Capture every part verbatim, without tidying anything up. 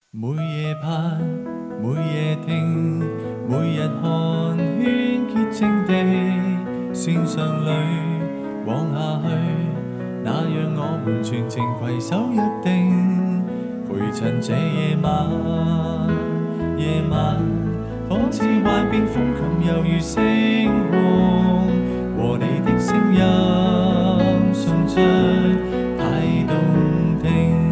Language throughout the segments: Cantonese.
每夜盼，每夜聽，每日看圈潔淨地線上裏往下去，那讓我們全程攜手約定，陪襯這夜晚。夜晚仿似幻變風琴，猶如星空，和你的聲音送出太動聽。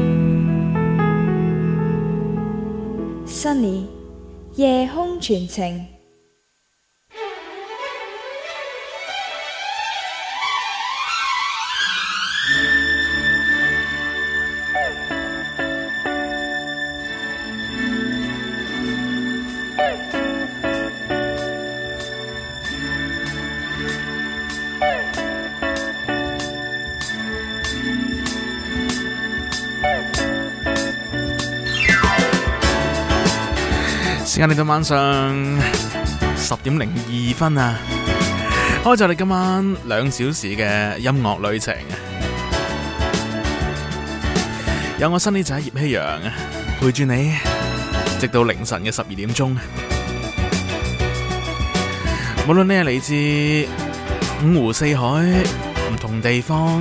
Sunny 夜空傳情。 時間嚟到晚上十點零二分啊！開咗你今晚兩小時嘅音樂旅程，有我Sunny仔葉希陽陪住你，直到凌晨嘅十二點鐘。無論你係嚟自五湖四海唔同地方，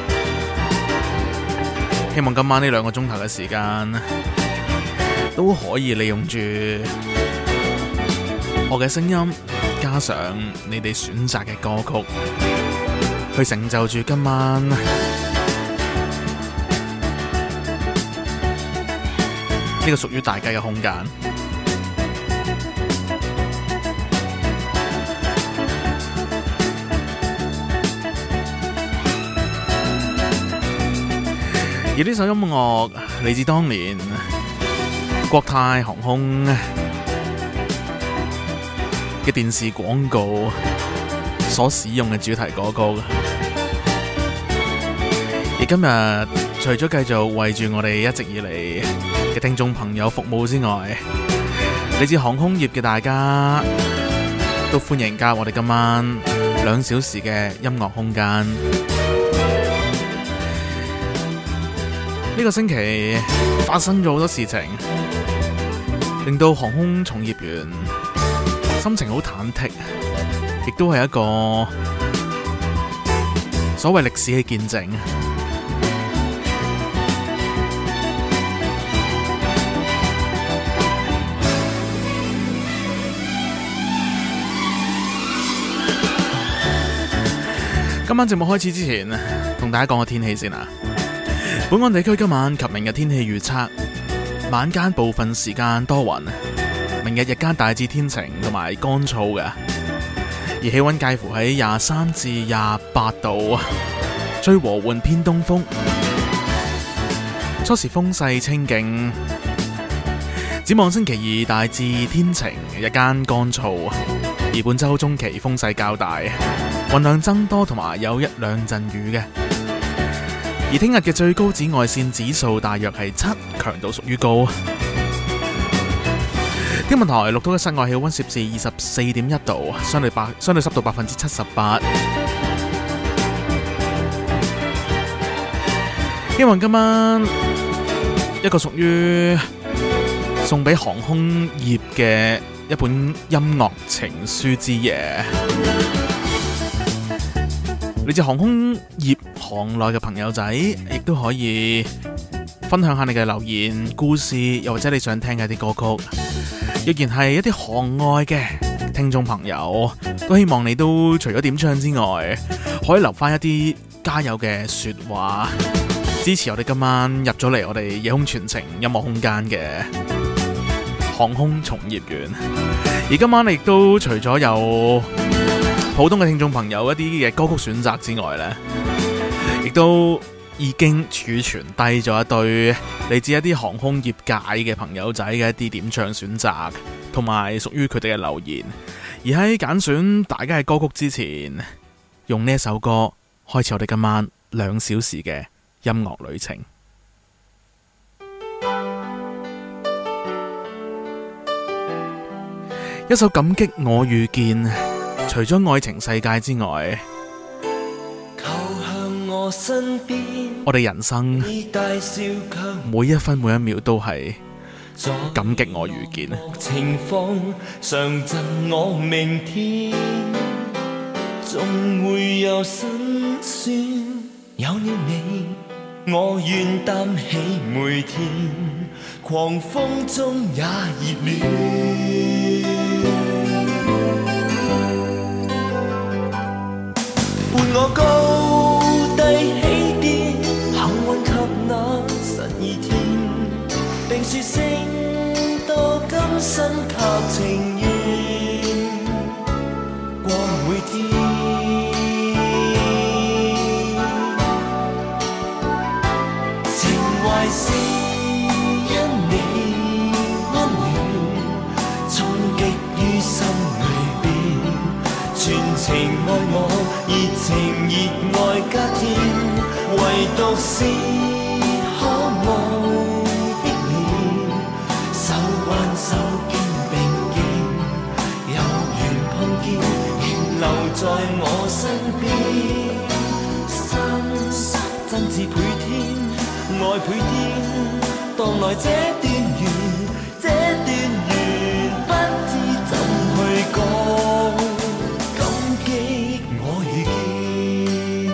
希望今晚呢兩個鐘頭嘅時間都可以利用住我嘅聲音，加上你哋選擇嘅歌曲，去成就住今晚呢個屬於大家嘅空間。而呢首音樂嚟自當年國泰航空嘅電視廣告所使用嘅主題歌曲。而今日除咗繼續為住我哋一直以嚟嘅聽眾朋友服務之外，嚟自航空業嘅大家都歡迎加入我哋今晚兩小時嘅音樂空間。呢個星期發生咗好多事情，令到航空從業員心情好忐忑，亦都係一個所謂歷史嘅見證。今晚節目開始之前，同大家講個天氣先啊！本港地區今晚及明日天氣預測：晚間部分時間多雲，明日日間大致天晴同埋乾燥嘅，而氣溫介乎喺廿三至廿八度，吹和緩偏東風，初時風勢清勁。展望星期二大致天晴，日間乾燥，而本周中期風勢較大，雲量增多同埋有一兩陣雨嘅。而聽日嘅最高紫外線指數大約係七，強度屬於高。天文台錄到嘅室外氣溫攝氏二十四點一度，相對百相對濕度百分之七十八。希望今晚一個屬於送俾航空業嘅一本音樂情書之夜。你哋航空業行內嘅朋友仔，亦都可以分享下你嘅留言、故事，又或者你想聽嘅啲歌曲。若然係一啲行外嘅聽眾朋友，都希望你都除咗點唱之外，可以留翻一啲加油嘅說話，支持我哋今晚入咗嚟我哋夜空傳情音樂空間嘅航空從業員。而今晚亦都除咗有普通嘅聽眾朋友一啲嘅歌曲選擇之外呢，亦都已經儲存低咗一堆嚟自一啲航空業界嘅朋友仔嘅一啲點唱選擇，同埋屬於佢哋嘅留言。而喺揀選大家嘅歌曲之前，用呢一首歌開始我哋今晚兩小時嘅音樂旅程。一首感激我遇見，除咗愛情世界之外， 我身邊， 我哋人生每一分每一秒都係感激我遇見。 情況常贈我明天，總會有辛酸。有了你，我願擔起每天，狂風中也熱戀。伴我高低起跌，幸運及那十二天，並說聲多今生及情願過每天。情懷是因你溫暖，衝擊於心裏邊，全情愛我，熱情熱愛加添，唯獨是可愛的臉，手挽手肩並肩，有緣碰見，仍留在我身邊，心真摯倍添，愛倍添，當來這段緣，這段緣不知怎去講，感激我遇見。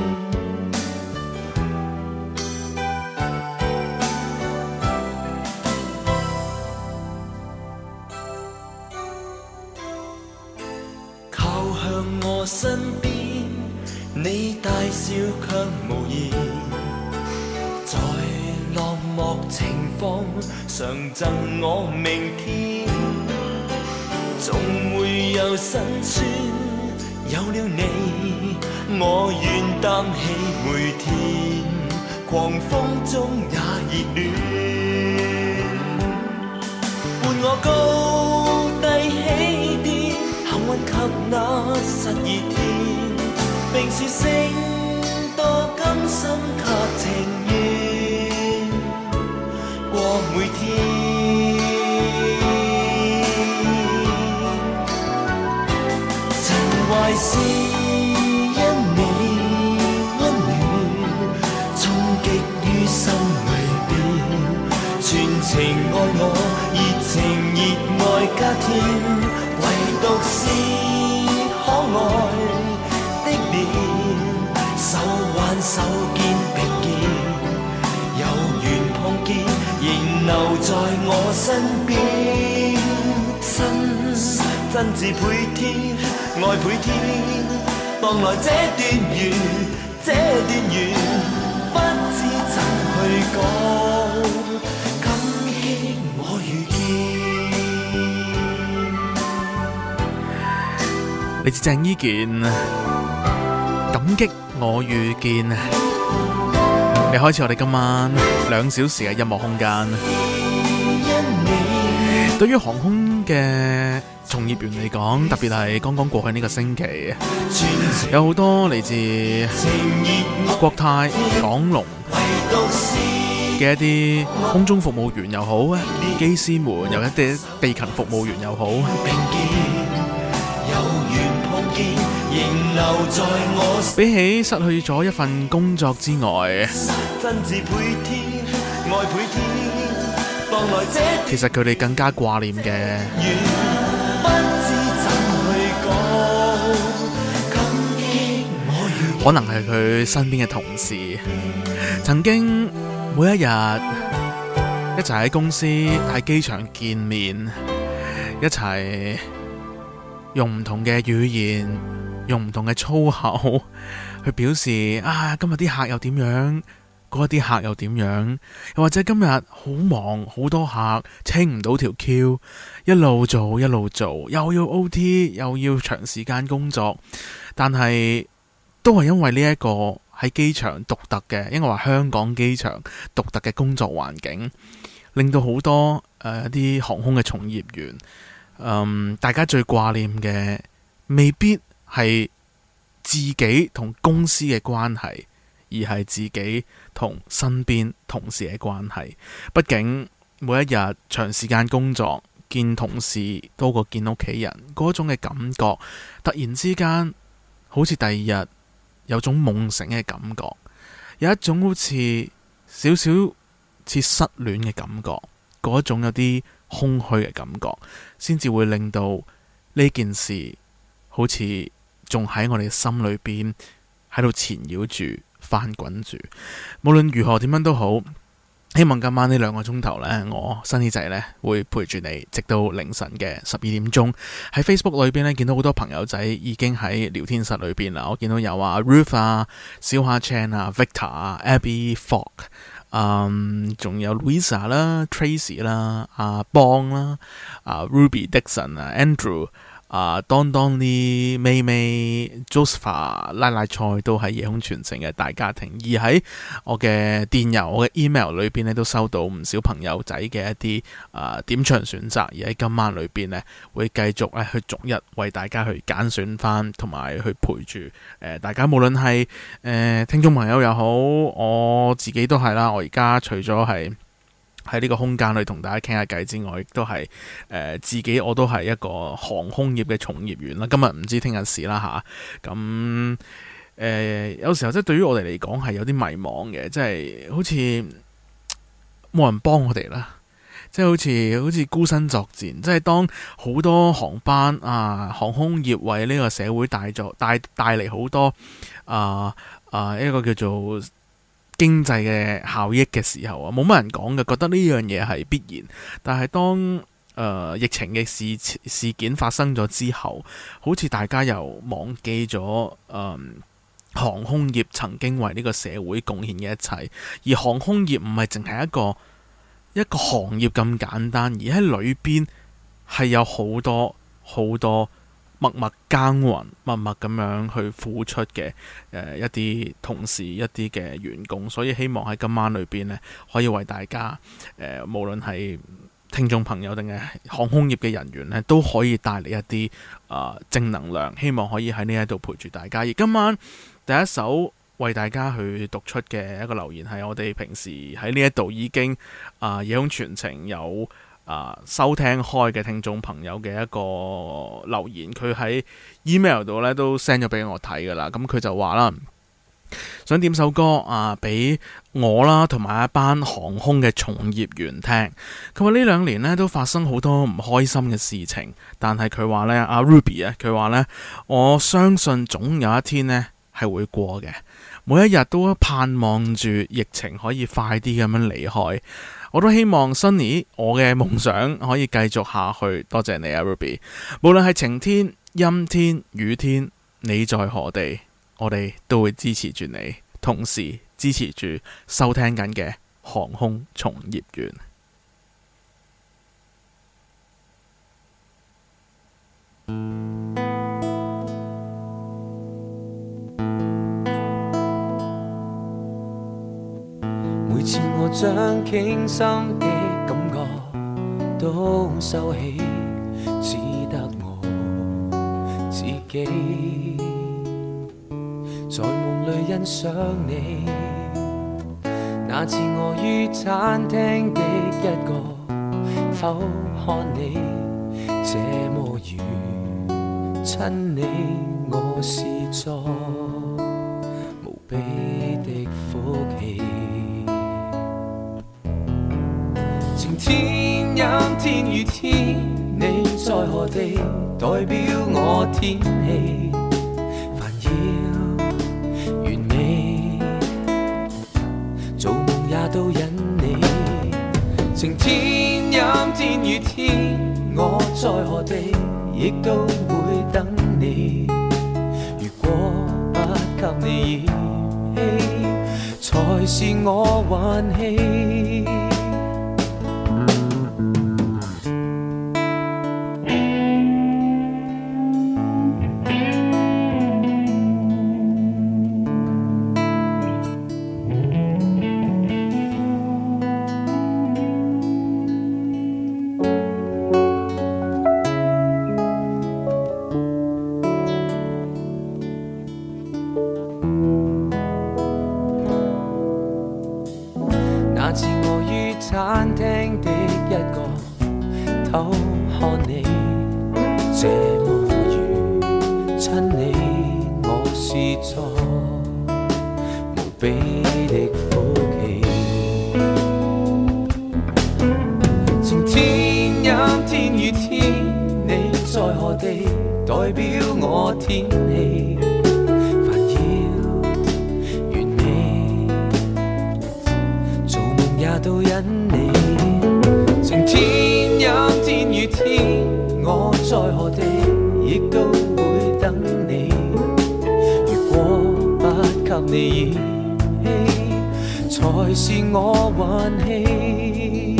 靠向我身邊，你大笑卻無言，在落寞情況常贈我明天，總會有辛酸。有了你，我願擔起每天，狂風中也熱戀。伴我高低起跌，幸運及那十二天，並說聲多今生及情願過每天。情懷是因你溫暖，衝擊於心裏邊，全情愛我，熱情熱愛加添，唯獨是可愛的臉，手挽手肩並肩，有緣碰見，仍留在我身邊，心真摯倍添，愛倍添，當來這段緣，這段緣不知怎去講，感激我遇見。 嚟自鄭伊健，感激我遇見。你開始我哋今晚兩小時嘅音樂空間。對於航空嘅從業員嚟講，特別係剛剛過去呢個星期，有好多嚟自國泰、港龍嘅一啲空中服務員又好，機師們又一啲地勤服務員又好，比起失去咗一份工作之外，其實佢哋更加掛念嘅，可能係佢身邊嘅同事，曾經每一日一齊喺公司、喺機場見面，一齊用唔同嘅語言、用唔同嘅粗口去表示啊，今日啲客又點樣，嗰啲客又點樣，又或者今日好忙，好多客清唔到條 Q， 一路做一路做，又要 O T， 又要長時間工作，但係都係因為呢一個喺機場獨特嘅，應該話香港機場獨特嘅工作環境，令到好多誒一啲航空嘅從業員，嗯，大家最掛念嘅未必係自己同公司嘅關係，而係自己同身邊同事嘅關係。畢竟每一日長時間工作，見同事多過見屋企人，嗰種嘅感覺，突然之間好似第二日有種夢醒嘅感覺，有一種好似少少似失戀嘅感覺。 嗰種有啲空虛嘅感覺，先至會令到呢件事好似仲喺我哋心裏邊喺度纏繞住、翻滾住。無論如何點樣都好，希望今晚呢兩個鐘頭呢，我新耳仔呢會陪住你，直到凌晨嘅十二點鐘。喺 Facebook 裏邊呢，見到好多朋友仔已經喺聊天室裏邊啦。我見到有啊 Ruth 啊、小夏 Chan 啊、Victor 啊、Abby Fogg， 嗯，仲有 Louisa 啦、Tracy 啦、阿邦啦、啊 Ruby Dixon 啊、Andrew。啊，當當啲妹妹 Josepha 拉拉菜都係夜空傳情嘅大家庭，而喺我嘅電郵、我嘅 email 裏邊咧，都收到唔少朋友仔嘅一啲啊點唱選擇，而喺今晚裏邊呢，會繼續咧去逐一為大家去揀選翻，同埋去陪住誒、呃、大家，無論係誒、呃、聽眾朋友又好，我自己都係啦。我而家除咗係喺呢個空間裏同大家傾下偈之外，亦都係誒、呃、自己我都係一個航空業嘅從業員啦。今日唔知聽日事啦吓，咁、啊、誒、呃、有時候即係對於我哋嚟講係有啲迷茫嘅，即係好似冇人幫我哋啦，即係好似好似孤身作戰。即係當好多航班啊，航空業為呢個社會帶咗帶帶嚟好多啊啊一個叫做經濟嘅效益嘅時候啊，冇乜人講嘅，覺得呢樣嘢係必然。但係當誒、呃、疫情嘅事事件發生咗之後，好似大家又忘記咗誒、呃、航空業曾經為呢個社會貢獻嘅一切。而航空業唔係淨係一個一個行業咁簡單，而喺裏邊係有好多好多默默耕耘、默默咁樣去付出嘅誒、呃、一啲同事、一啲嘅員工，所以希望喺今晚裏邊呢，可以為大家誒、呃，無論係聽眾朋友定係航空業嘅人員呢，都可以帶嚟一啲啊、呃、正能量。希望可以喺呢一度陪住大家。而今晚第一首為大家去讀出嘅一個留言係我哋平時喺呢一度已經啊夜空傳情有啊、呃，收聽開嘅聽眾朋友嘅一個留言，佢喺 email 度咧都 send 咗俾我睇噶啦。咁佢就話啦，想點首歌啊，俾我啦，同埋一班航空嘅從業員聽。佢話呢兩年咧都發生好多唔開心嘅事情，但係佢話咧，阿 Ruby 啊，佢話咧，我相信總有一天咧係會過嘅。每一日都盼望住疫情可以快啲咁樣離開。我都希望 Sunny 我嘅夢想可以繼續下去。多謝你啊 Ruby， 無論係晴天、陰天、雨天，你在何地，我哋都會支持住你，同時支持住收聽緊嘅航空從業員。 每次我將傾心的感覺都收起，只得我自己在夢裏欣賞你。那次我於餐廳的一角偷看你，這麼遠親你，我是作無比的福氣。晴天、陰天、雨天，你在何地，代表我天氣。煩擾完美，做夢也都因你。晴天、陰天、雨天，我在何地，亦都會等你。如果不給你嫌棄，才是我運氣。那次我於餐廳的一角偷看你，這麼遠親你，我是作無比的福氣。 陰天與天，你在何地？代表我天氣煩擾，願你做夢也都因你。晴天陰天與天，我在何地亦都會等你。如果不給你燃氣，才是我運氣。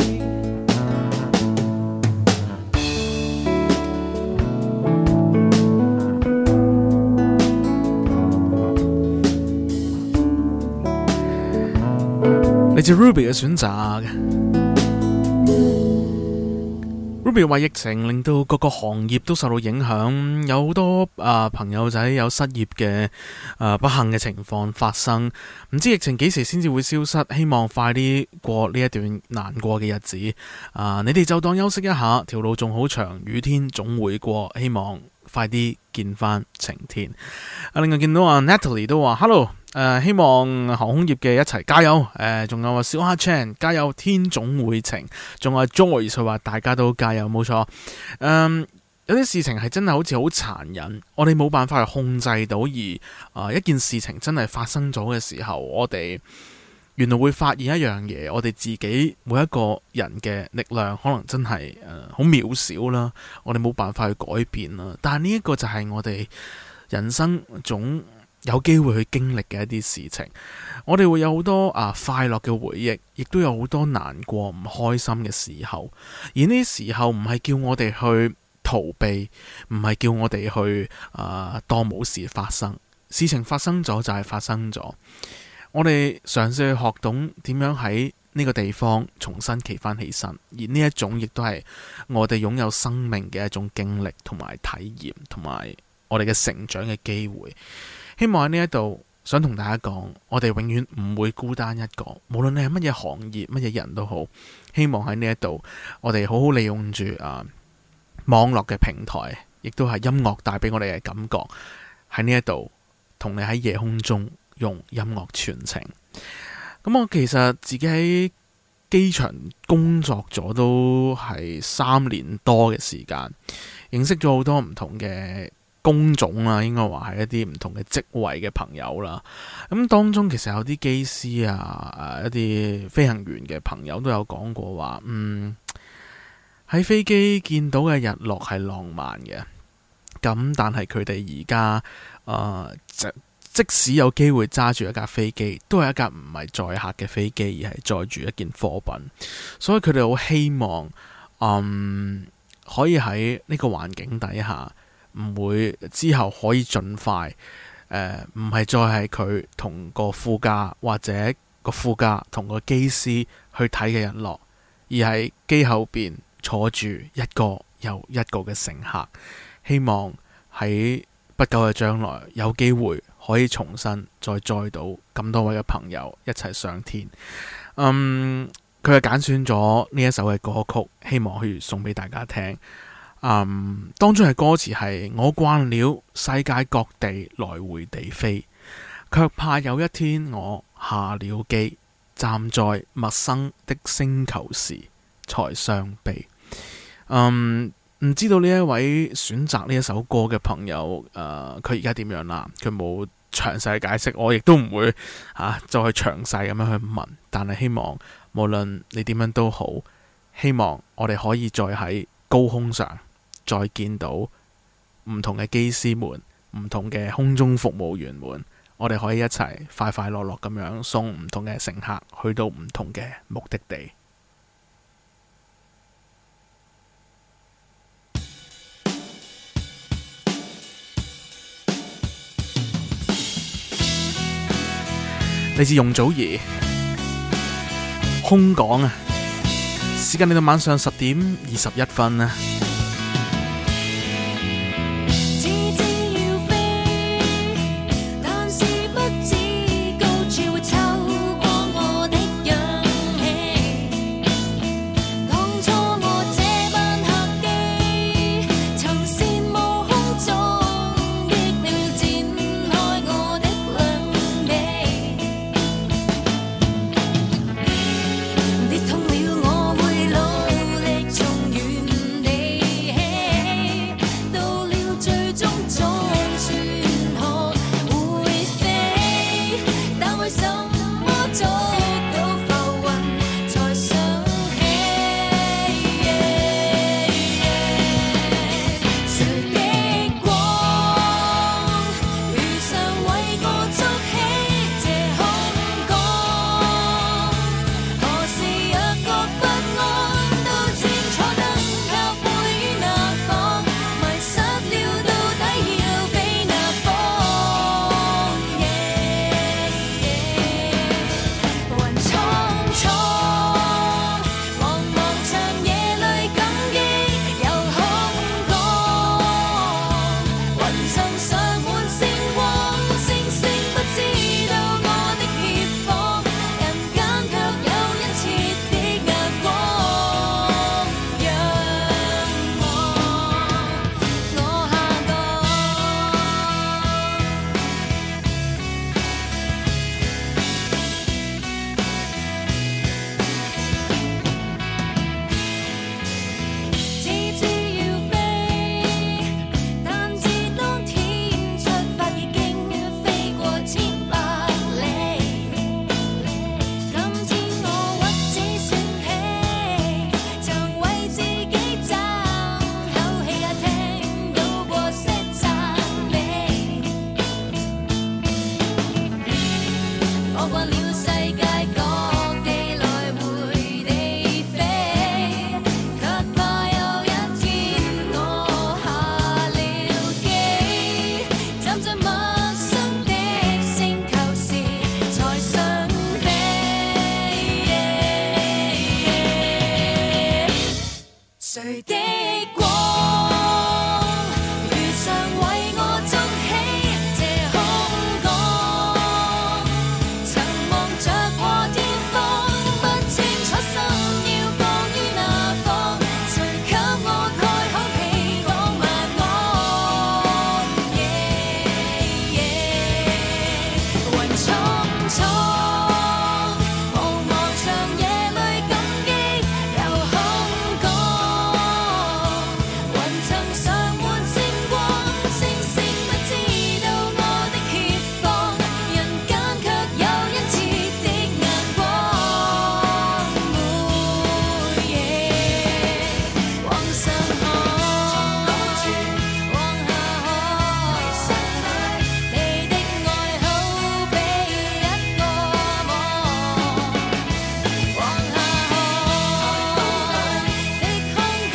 嚟自 Ruby 嘅選擇。Ruby 話疫情令到各個行業都受到影響，有好多啊、呃、朋友仔有失業嘅啊、呃、不幸嘅情況發生。唔知疫情幾時先至會消失，希望快啲過呢一段難過嘅日子。啊、呃，你哋就當休息一下，條路仲好長，雨天總會過，希望快啲見翻晴天。啊，另外見到啊 Natalie 都話 Hello， 誒、呃、希望航空業嘅一齊加油。誒、呃、仲有話小蝦 Chan 加油，天總會晴。仲有 Joyce 佢話大家都加油，冇錯。嗯，有啲事情係真係好似好殘忍，我哋冇辦法去控制到，而啊、呃、一件事情真係發生咗嘅時候，我哋原來會發現一樣嘢，我哋自己每一個人嘅力量可能真係誒好渺小啦，我哋冇辦法去改變啦。但係呢一個就係我哋人生總有機會去經歷嘅一啲事情。我哋會有好多啊快樂嘅回憶，亦都有好多難過唔開心嘅時候。而呢啲時候唔係叫我哋去逃避，唔係叫我哋去啊當冇事發生。事情發生咗就係發生咗。我哋嘗試去學懂點樣喺呢個地方重新企翻起身，而呢一種亦都係我哋擁有生命嘅一種經歷同埋體驗，同埋我哋嘅成長嘅機會。希望喺呢一度想同大家講，我哋永遠唔會孤單一個，無論你係乜嘢行業、乜嘢人都好。希望喺呢一度，我哋好好利用住啊網絡嘅平台，亦都係音樂帶俾我哋嘅感覺。喺呢一度，同你喺夜空中用音樂傳情。咁我其實自己喺機場工作咗都係三年多嘅時間，認識咗好多唔同嘅工種啦，應該話係一啲唔同嘅職位嘅朋友啦。咁當中其實有啲機師啊，誒一啲飛行員嘅朋友都有講過話，嗯喺飛機見到嘅日落係浪漫嘅。咁但係佢哋而家誒即使有機會揸住一架飛機，都係一架唔係載客嘅飛機，而係載住一件貨品。所以佢哋好希望，嗯，可以喺呢個環境底下，唔會之後可以盡快，誒、呃，唔係再係佢同個副駕或者個副駕同個機師去睇嘅日落，而係機後邊坐住一個又一個嘅乘客。希望喺不久嘅將來有機會可以重新再載到咁多位嘅朋友一齊上天。嗯，佢係揀選咗呢一首嘅歌曲，希望可以送俾大家聽。嗯，當中嘅歌詞係：我慣了世界各地來回地飛，卻怕有一天我下了機，站在陌生的星球時才傷悲。嗯。唔知道呢一位選擇呢一首歌嘅朋友，誒佢而家點樣啦？佢冇詳細解釋，我亦都唔會啊再去詳細咁樣去問。但係希望無論你點樣都好，希望我哋可以再喺高空上再見到唔同嘅機師們、唔同嘅空中服務員們，我哋可以一齊快快樂樂咁樣送唔同嘅乘客去到唔同嘅目的地。嚟自容祖兒，空港啊！時間嚟到晚上十點二十一分啊！ 痛了我會努力從原誰的光如常為我築起這空港，曾望着破天荒，不清楚心要放於哪方，誰給我開口屁講晚安？雲蒼蒼茫茫長夜裏感激有空港，雲層上滿星光，星星不知道我的怯況，人間卻有殷切的眼光。每夜往上看，往下看，你的愛好比一個網，往下看，的空港，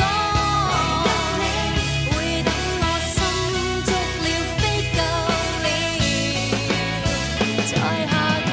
會等我心足了飛夠了，再下降。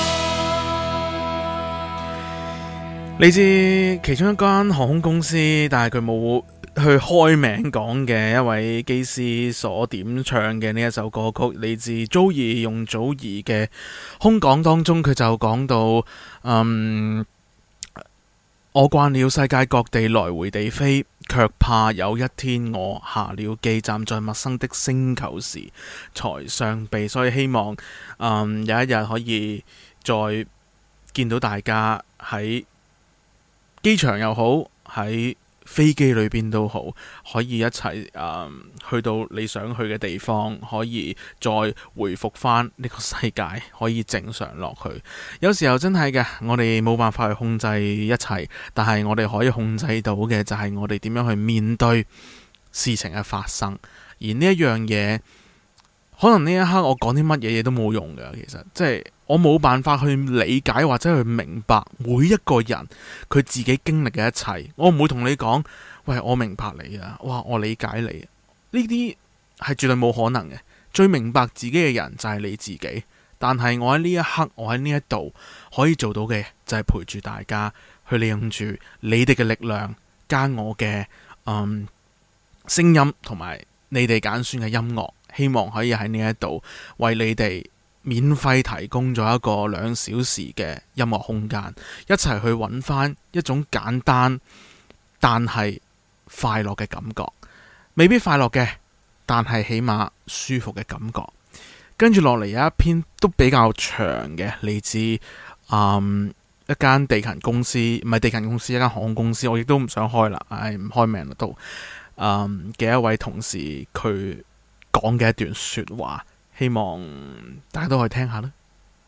嚟自其中一間航空公司，但係佢冇去開名講嘅一位機師所點唱嘅呢一首歌曲，嚟自 Joey 容祖兒嘅空港當中，佢就講到，嗯，我慣了世界各地來回地飛，卻怕有一天我下了機，站在陌生的星球時才相避，所以希望，嗯，有一日可以再見到大家喺機場又好，喺飛機裏邊都好，可以一齊、嗯、去到你想去嘅地方，可以再回復翻呢個世界，可以正常落去。有時候真係嘅，我哋冇辦法去控制一切，但係我哋可以控制到嘅就係我哋點樣去面對事情嘅發生。而呢一樣嘢，可能呢一刻我講啲乜嘢嘢都冇用嘅，其實即係我冇辦法去理解或者去明白每一個人佢自己經歷嘅一切。我唔會同你講，喂，我明白你啊，哇，我理解你。呢啲係絕對冇可能嘅。最明白自己嘅人就係你自己。但係我喺呢一刻，我喺呢一度可以做到嘅就係陪住大家，去利用住你哋嘅力量，加我嘅嗯聲音同埋你哋揀選嘅音樂，希望可以喺呢一度為你哋免費提供咗一個兩小時嘅音樂空間，一齊去揾翻一種簡單但係快樂嘅感覺，未必快樂嘅，但係起碼舒服嘅感覺。跟住落嚟有一篇都比較長嘅，嚟自嗯一間地勤公司，唔係地勤公司，一間航空公司，我亦都唔想開啦，唉，唔開名啦都，嗯嘅一位同事佢講嘅一段說話。希望大家都可以聽下啦。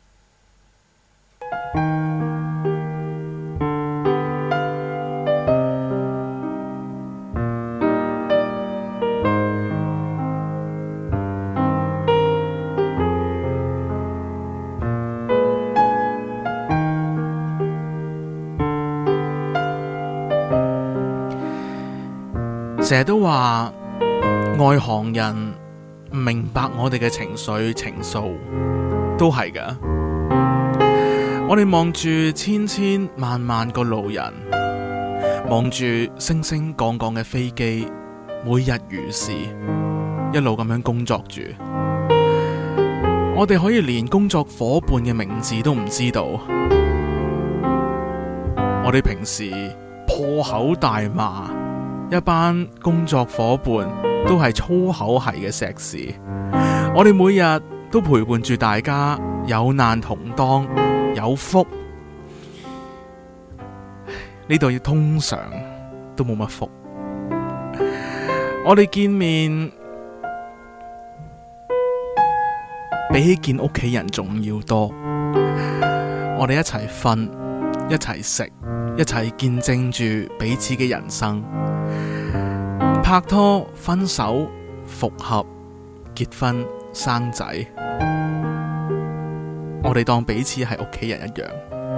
成日都話外行人唔明白我哋嘅情緒情愫，都係㗎。我哋望住千千萬萬個路人，望住升升降降嘅飛機，每日如是，一路咁樣工作住。我哋可以連工作伙伴嘅名字都唔知道。我哋平時破口大罵一班工作伙伴，都係粗口係嘅碩士。我哋每日都陪伴住大家，有難同當，有福。呢度通常都冇乜福。我哋見面比起見屋企人仲要多。我哋一齊瞓，一齊食，一齊見證住彼此嘅人生。拍拖、分手、復合、結婚、生仔，我哋當彼此係屋企人一樣。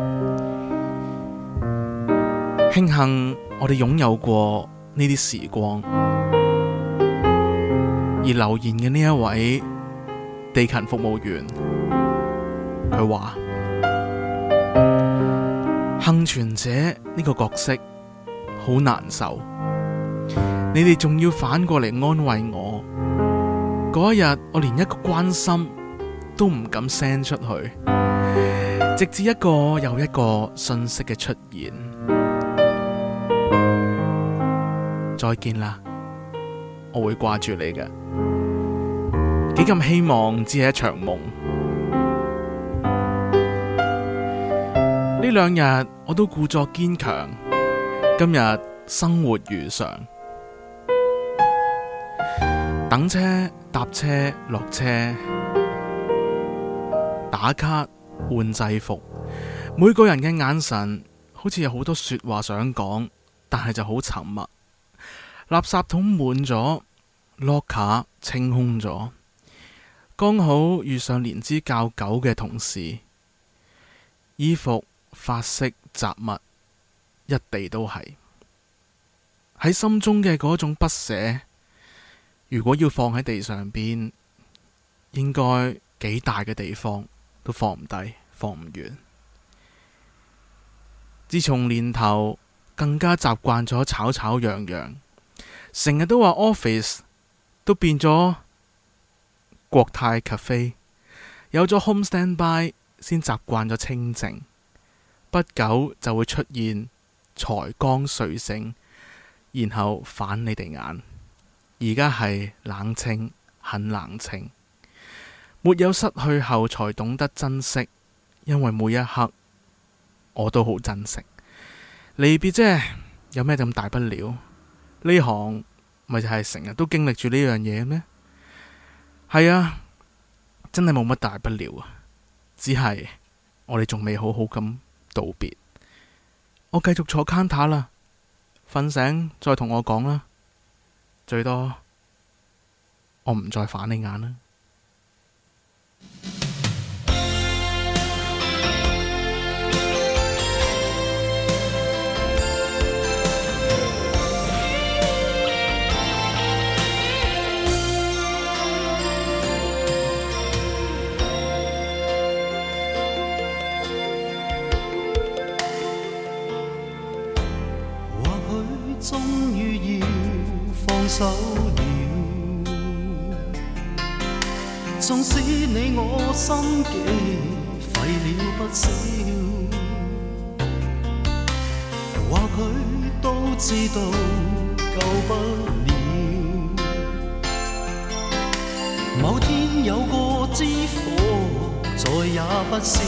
慶幸我哋擁有過呢啲時光。而留言嘅呢一位地勤服務員，佢話幸存者呢個角色好難受。 你哋仲要反過嚟安慰我。嗰一日，我連一個關心都唔敢 send 出去，直至一個又一個信息嘅出現。再見啦，我會掛住你嘅。幾咁希望只係一場夢。呢兩日我都故作堅強，今日生活如常，等車、搭車、落車、打卡、換制服，每個人嘅眼神好似有好多說話想講，但係就好沉默。垃圾桶滿咗，locker清空咗，剛好遇上年資較久嘅同事，衣服、髮色、雜物一地都係。喺心中嘅嗰種不捨，如果要放喺地上邊，應該幾大嘅地方都放唔低，放唔完。自從年頭更加習慣咗吵吵嚷嚷，成日都話 office 都變咗國泰 cafe， 有咗 home standby 先習慣咗清靜，不久就會出現才剛睡醒，然後反你哋眼。而家係冷清，很冷清，沒有失去後才懂得珍惜，因為每一刻我都好珍惜。離別啫，有咩咁大不了？呢行咪就係成日都經歷住呢樣嘢咩？係啊，真係冇乜大不了啊，只係我哋仲未好好咁道別。我繼續坐 counter 啦，瞓醒再同我講啦，最多我唔再反你眼啦。 終於要放手了，縱使你我心機費了不少，或許都知道救不了。某天有個知火，再也不少。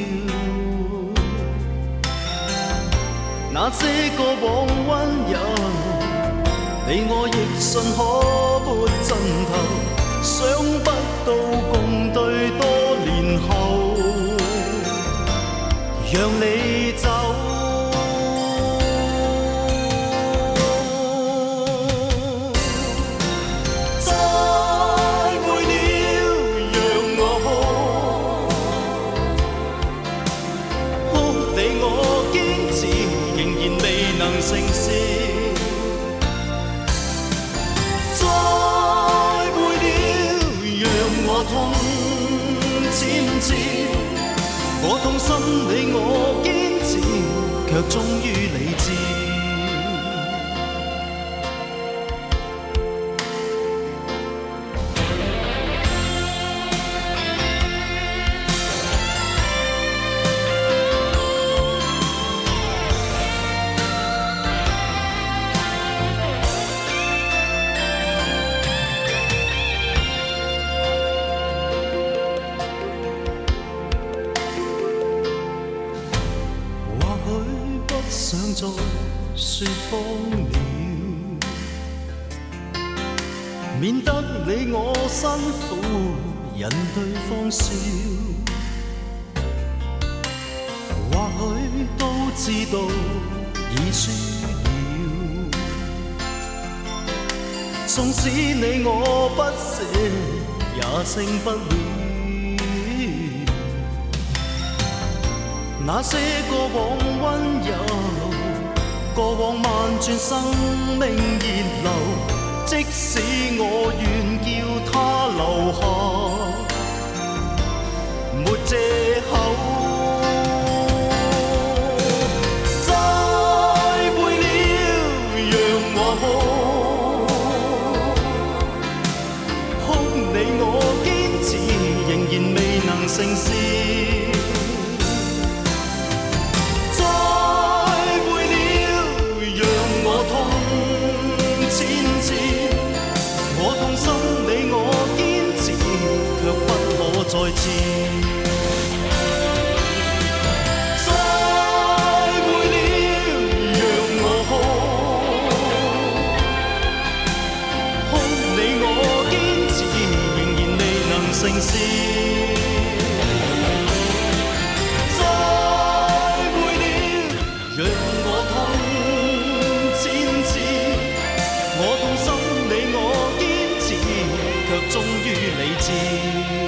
那些過往溫柔，你我亦信可撥盡頭，想不到共對多年後，讓你走。再會了，讓我哭，哭地我堅持，仍然未能成事。再會了，讓我痛漸至，我痛心你我堅持，卻終於理智。想再說謊了，免得你我辛苦，引對方笑。或許都知道已輸了，縱使你我不捨，也勝不了。那些過往溫柔，過往萬轉生命熱流，即使我願叫它留下，沒藉口。再會了，讓我哭， 成事。再會了，讓我痛千次，我痛心你我堅持，卻不可再次。成事，再會了，讓我痛千次，我痛心你我堅持，卻終於理智。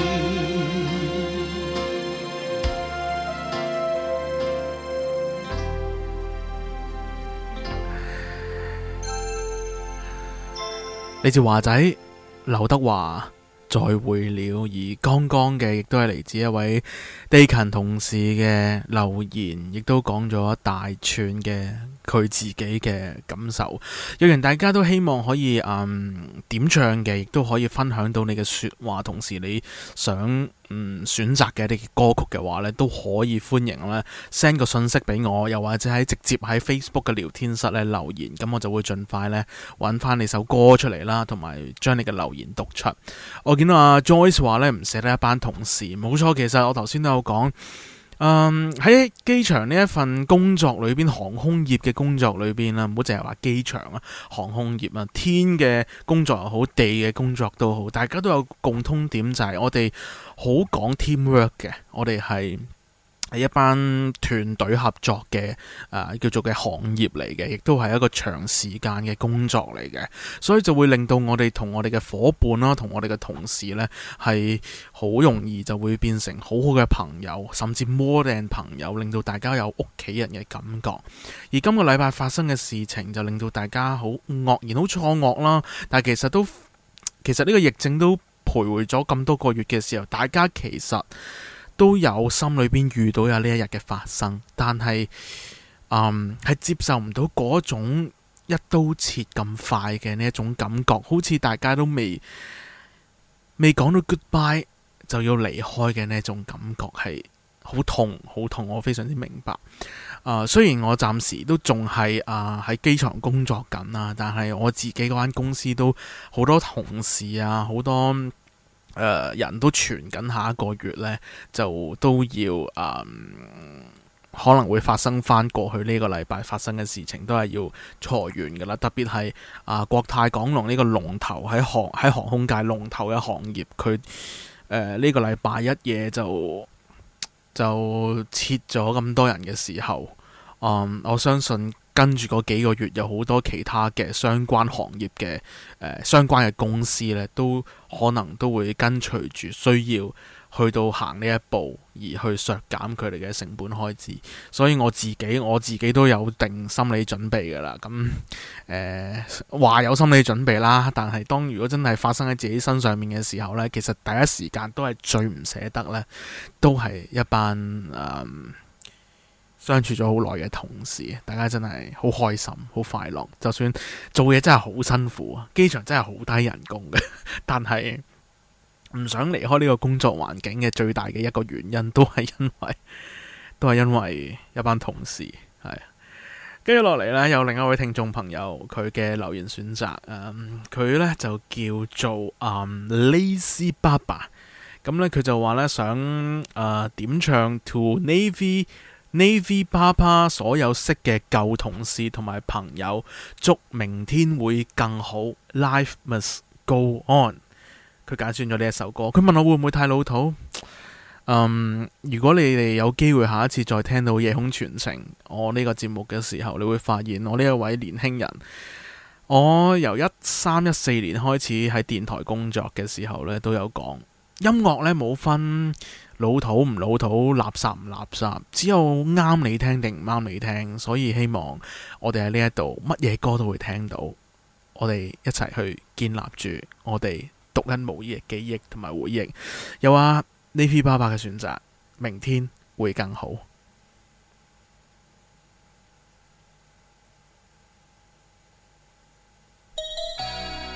嚟自華仔劉德華再會了，而剛剛嘅亦都係嚟自一位地勤同事嘅留言，亦都講咗一大串嘅佢自己嘅感受。若然大家都希望可以嗯點唱嘅，亦都可以分享到你嘅說話，同時你想嗯選擇嘅一啲歌曲嘅話呢，都可以歡迎咧 send 個信息俾我，又或者喺直接喺 Facebook 嘅聊天室咧留言，咁我就會盡快咧揾翻你首歌出嚟啦，同埋將你嘅留言讀出。我見到阿 Joyce 話咧唔捨得一班同事，冇錯，其實我頭先都有講。嗯，喺機場呢一份工作裏邊，航空業嘅工作裏邊啦，唔好淨係話機場啊，航空業啊，天嘅工作又好，地嘅工作都好，大家都有共通點，就係我哋好講 teamwork 嘅，我哋係係一班團隊合作嘅誒、呃、叫做嘅行業嚟嘅，亦都係一個長時間嘅工作嚟嘅，所以就會令到我哋同我哋嘅伙伴啦，同我哋嘅同事呢，係好容易就會變成好好嘅朋友，甚至 more than 朋友，令到大家有屋企人嘅感覺。而今個禮拜發生嘅事情就令到大家好愕然、好錯愕啦。但係其實都其實呢個疫症都徘徊咗咁多個月嘅時候，大家其實都有心裏邊遇到有呢一日嘅發生，但係嗯係接受唔到嗰種一刀切咁快嘅呢一種感覺，好似大家都未未講到 goodbye 就要離開嘅呢一種感覺，係好痛好痛，我非常之明白。啊、呃，雖然我暫時都仲係啊喺機場工作緊啦，但係我自己嗰間公司都好多同事啊，好多誒、呃、人都傳緊下一個月呢，就都要啊、呃、可能會發生翻過去呢個禮拜發生嘅事情，都係要裁員噶啦。特別係啊、呃、國泰港龍呢個龍頭喺航喺航空界龍頭嘅行業，佢誒呢個禮拜一夜就。就切咗咁多人嘅時候，嗯，我相信跟住嗰幾個月有好多其他嘅相關行業嘅誒、呃、相關嘅公司咧，都可能都會跟隨住需要去到行呢一步，而去削減佢哋嘅成本開支。所以我自己我自己都有定心理準備㗎啦。咁誒話有心理準備啦，但係當如果真係發生喺自己身上面嘅時候呢，其實第一時間都係最唔捨得呢，都係一班誒、嗯、相處咗好耐嘅同事，大家真係好開心好快樂。就算做嘢真係好辛苦啊，機場真係好低人工嘅，但係唔想離開呢個工作環境嘅最大嘅一個原因，都係因為都係因為一班同事係。跟住落嚟呢，有另一位聽眾朋友佢嘅留言選擇，嗯，佢呢就叫做嗯 Lazy Baba， 咁呢，佢就話呢想誒、呃、點唱 To Navy Navy Papa 所有識嘅舊同事同埋朋友，祝明天會更好 ，Life must go on。佢揀選咗呢一首歌，佢問我會唔會太老土？嗯，如果你哋有機會下一次再聽到夜空傳情我呢個節目嘅時候，你會發現我呢一位年輕人，我由一三一四年開始喺電台工作嘅時候呢，都有講音樂呢冇分老土唔老土，垃圾唔垃圾，只有啱你聽定唔啱你聽。所以希望我哋喺呢一度乜嘢歌都會聽到，我哋一齊去建立住我哋獨一無二嘅記憶同埋回憶。又話 Navy 爸爸嘅選擇，明天會更好。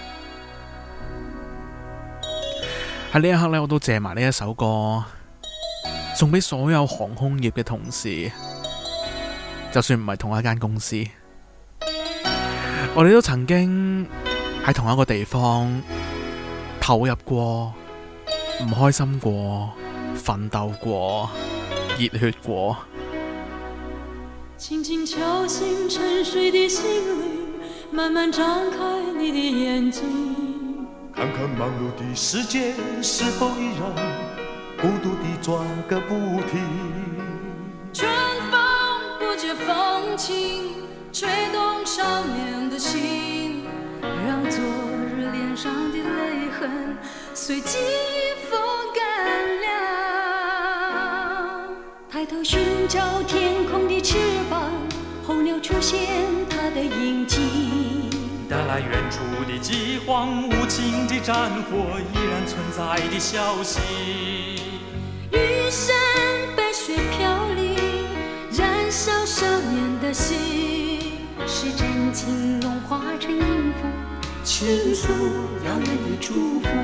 喺呢一刻呢，我都借埋呢一首歌送俾所有航空業嘅同事，就算唔係同一間公司，我哋都曾經喺同一個地方投入過，唔開心過，奮鬥過，熱血過。 輕輕敲醒沉睡的心靈，慢慢張開你的眼睛， 看看忙碌的世界是否依然孤獨地轉個不停。 春風不解風情，吹動少年的心，讓昨日臉上的淚痕隨季風乾了。抬頭尋找天空的翅膀，候鳥出現它的影跡， 帶來遠處的饑荒，無情的戰火依然存在的消息。 雨傘白雪飄零，燃燒少年的心，是真情融化成音符，傾訴遙遠的祝福。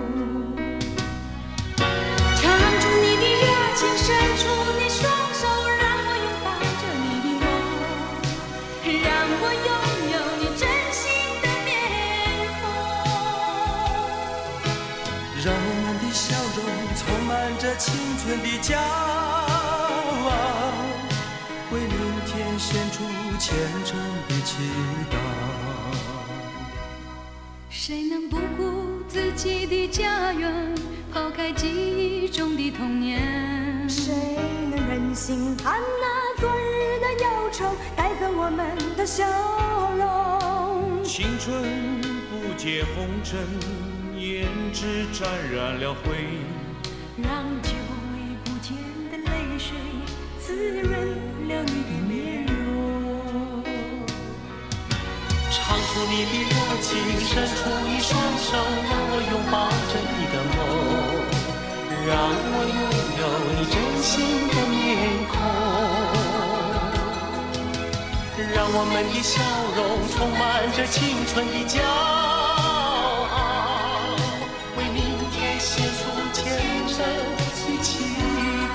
唱出你的熱情，伸出你雙手，讓我擁抱着你的夢，讓我擁有你真心的面孔， 讓我們的笑容充滿着青春的驕傲，為明天獻出虔誠的祈禱。 誰能不顧自己的家園，拋開記憶中的童年？ 誰能忍心看那昨日的憂愁帶走我們的笑容？ 青春不解紅塵，胭脂沾染了灰， 讓久已不見的淚水滋潤了你的面容。 唱出你的熱情，伸出一雙手，讓我擁抱着你的夢，讓我擁有你真心的面孔，讓我們的笑容充滿着青春的驕傲，為明天獻出虔誠的祈禱。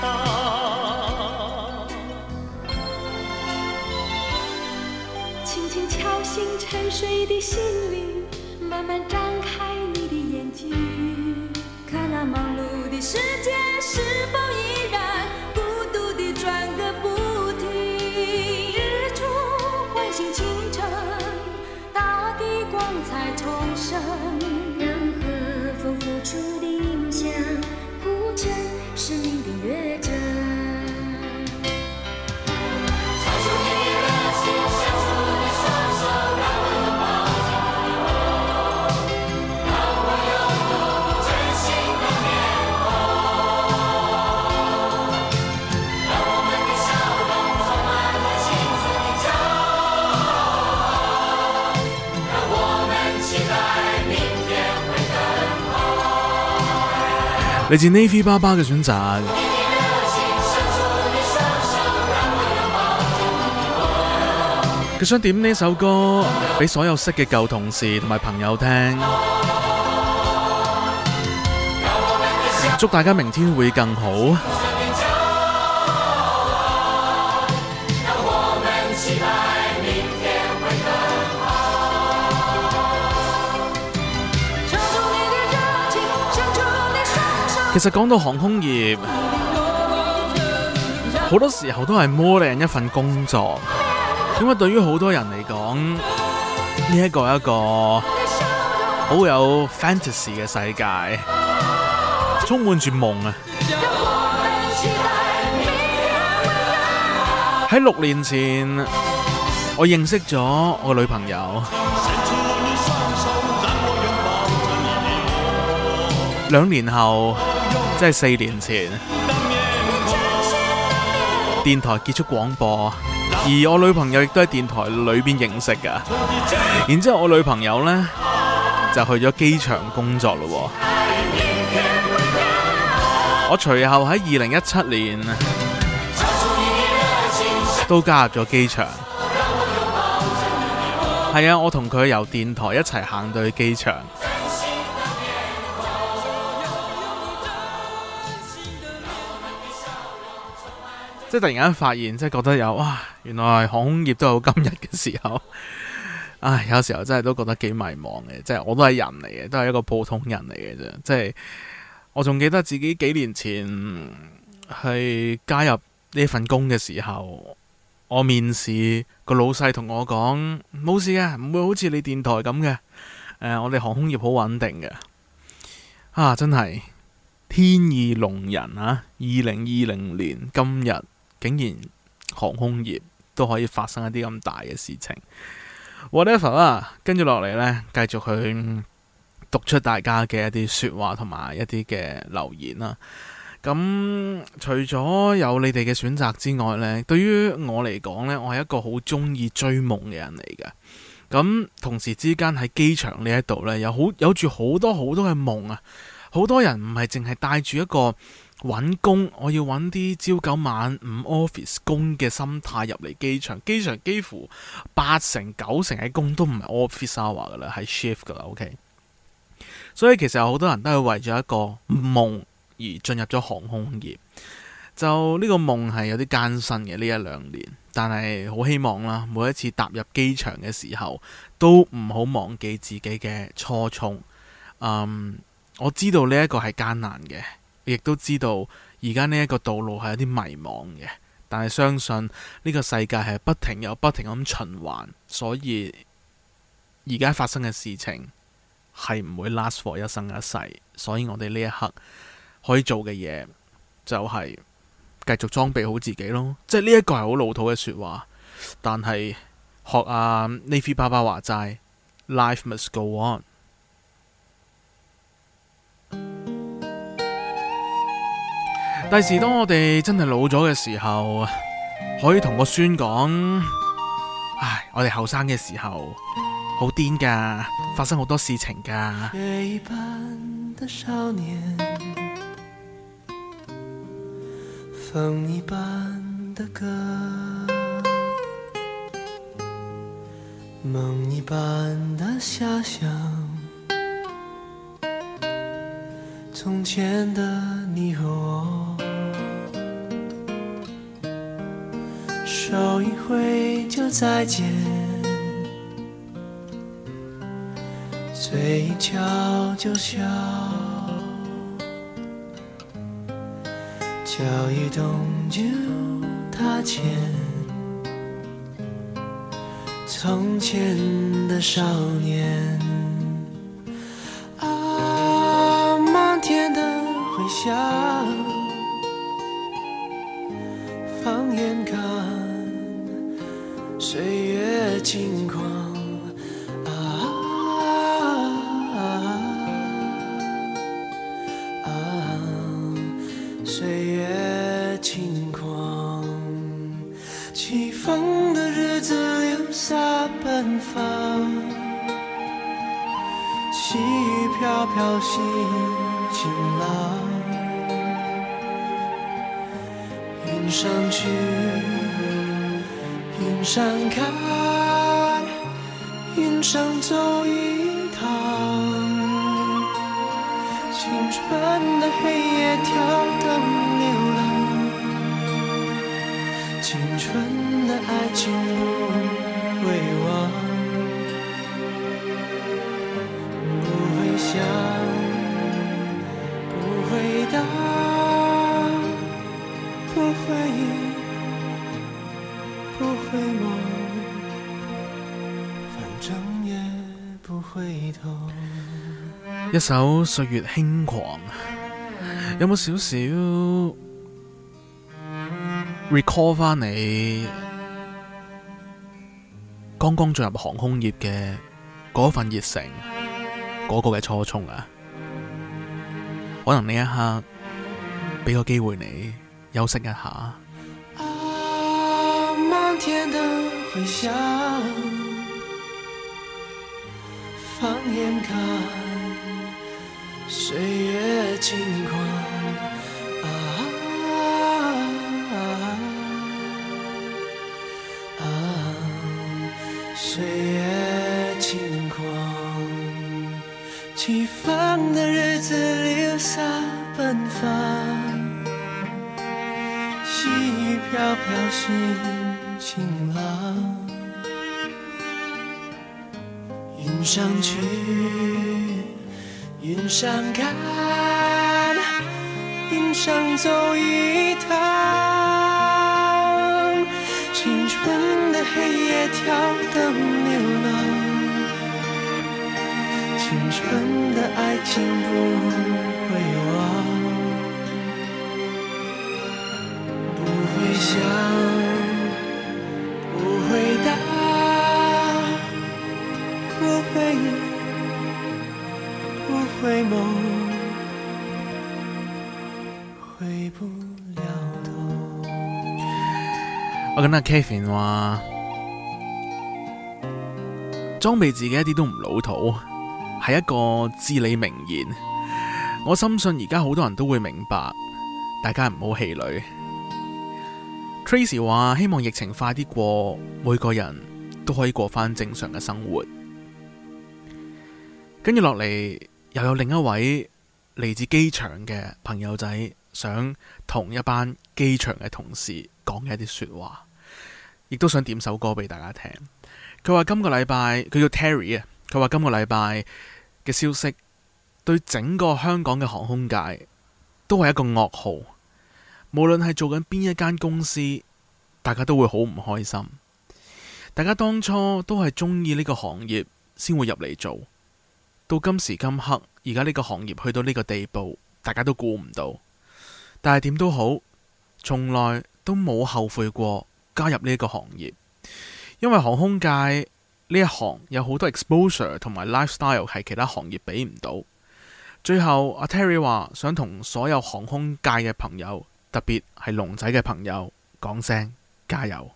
輕輕敲醒沉睡的心靈，慢慢張開你的眼睛，看那忙碌的世界是否依然孤獨地轉個不停。日出喚醒清晨，大地光彩重生， 讓和風付出的影響鋪成生命的樂章。 嚟自 Navy 爸爸嘅選擇，佢想點呢首歌俾所有識嘅舊同事同埋朋友聽，祝大家明天會更好。其實講到航空業，好多時候都係more than一份工作，因為對於好多人嚟講，呢一個係一個好有 fantasy 嘅世界，充滿住夢啊！喺六年前，我認識咗我女朋友，兩年後。即係四年前，電台結束廣播，而我女朋友亦都喺電台裏邊認識㗎。然之後我女朋友呢，就去咗機場工作咯。我隨後喺二零一七年都加入咗機場。係啊，我同佢由電台一齊行到去機場。 即係突然間發現，即係覺得有哇，原來航空業都有今日嘅時候。唉，有時候真係都覺得幾迷茫嘅，即係我都係人嚟嘅，都係一個普通人嚟嘅啫。即係我仲記得自己幾年前去加入呢份工嘅時候，我面試個老細同我講冇事嘅，唔會好似你電台咁嘅。誒、呃，我哋航空業好穩定嘅。啊，真係天意弄人啊！二零二零年今日竟然航空業都可以發生一啲咁大嘅事情。whatever 啦，跟住落嚟呢，繼續去讀出大家嘅一啲說話同埋一啲嘅留言啦。咁除咗有你哋嘅選擇之外呢，對於我嚟講呢，我係一個好中意追夢嘅人嚟嘅。咁同時之間喺機場呢一度呢，有好有住好多好多嘅夢啊！好多人唔係淨係帶住一個揾工，我要揾啲朝九晚五 office 工嘅心態入嚟機場。機場幾乎八成九成嘅工都唔係 office hour 噶啦，係 shift 噶啦。OK， 所以其實有好多人都係為咗一個夢而進入咗航空業。就呢個夢係有啲艱辛嘅呢一兩年，但係好希望啦，每一次踏入機場嘅時候，都唔好忘記自己嘅初衷。嗯，我知道呢一個係艱難嘅。亦都知道而家呢一個道路係有啲迷茫嘅，但係相信呢個世界係不停又不停咁循環，所以而家發生嘅事情係唔會 last for 一生一世，所以我哋呢一刻可以做嘅嘢就係繼續裝備好自己咯。即係呢一個係好老土嘅說話，但係學阿 Navy 爸爸話齋 ，Life must go on。第時當我哋真係老咗嘅時候，可以同個孫講：唉，我哋後生嘅時候好癲噶，發生好多事情噶。 雪一般的少年，風一般的歌，夢一般的遐想，從前的你和我，手一揮就再見，嘴一翹就笑，腳一動就踏前，從前的少年啊，漫天的回響，放眼看歲月輕狂啊，啊，啊，歲月輕狂，起風的日子留下奔放，細雨飄飄心晴朗，雲上去雲上看，雲上走一趟，青春的黑夜跳燈流浪，青春的愛情不會忘，不會想，不會答，不會不會夢，反正也不回頭。 一首《歲月輕狂》，有冇少少 recall 翻你剛剛進入航空業嘅嗰份熱誠，嗰個嘅初衷啊？可能呢一刻俾個機會你休息一下。 漫天的回響，放眼看歲月輕狂啊，啊，啊，歲月輕狂，起風的日子留下奔放，細细雨飘飘心晴朗，云上去，云上看，云上走一趟，青春的黑夜跳灯流浪，青春的爱情不会忘，不会想，不会答，不会不会梦，回不了头。 我跟阿 Kevin 話裝備自己一啲都唔老土，係一個至理名言。我深信而家好多人都會明白，大家唔好氣餒。Tracy 話希望疫情快啲過，每個人都可以過返正常嘅生活。跟住落嚟又有另一位嚟自機場嘅朋友仔，想同一班機場嘅同事講嘅一啲說話，亦都想點首歌俾大家聽。佢話今個禮拜，佢叫 Terry 啊，佢話今個禮拜嘅消息對整個香港嘅航空界都係一個噩耗，無論係做緊邊一間公司，大家都會好唔開心。大家當初都係中意呢個行業先會入嚟做，到今時今刻，而家呢個行業去到呢個地步，大家都估唔到。但係點都好，從來都冇後悔過加入呢個行業，因為航空界呢一行有好多 exposure 同埋 lifestyle 係其他行業俾唔到。最後阿 Terry 話想同所有航空界嘅朋友，特別係龍仔嘅朋友講聲加油。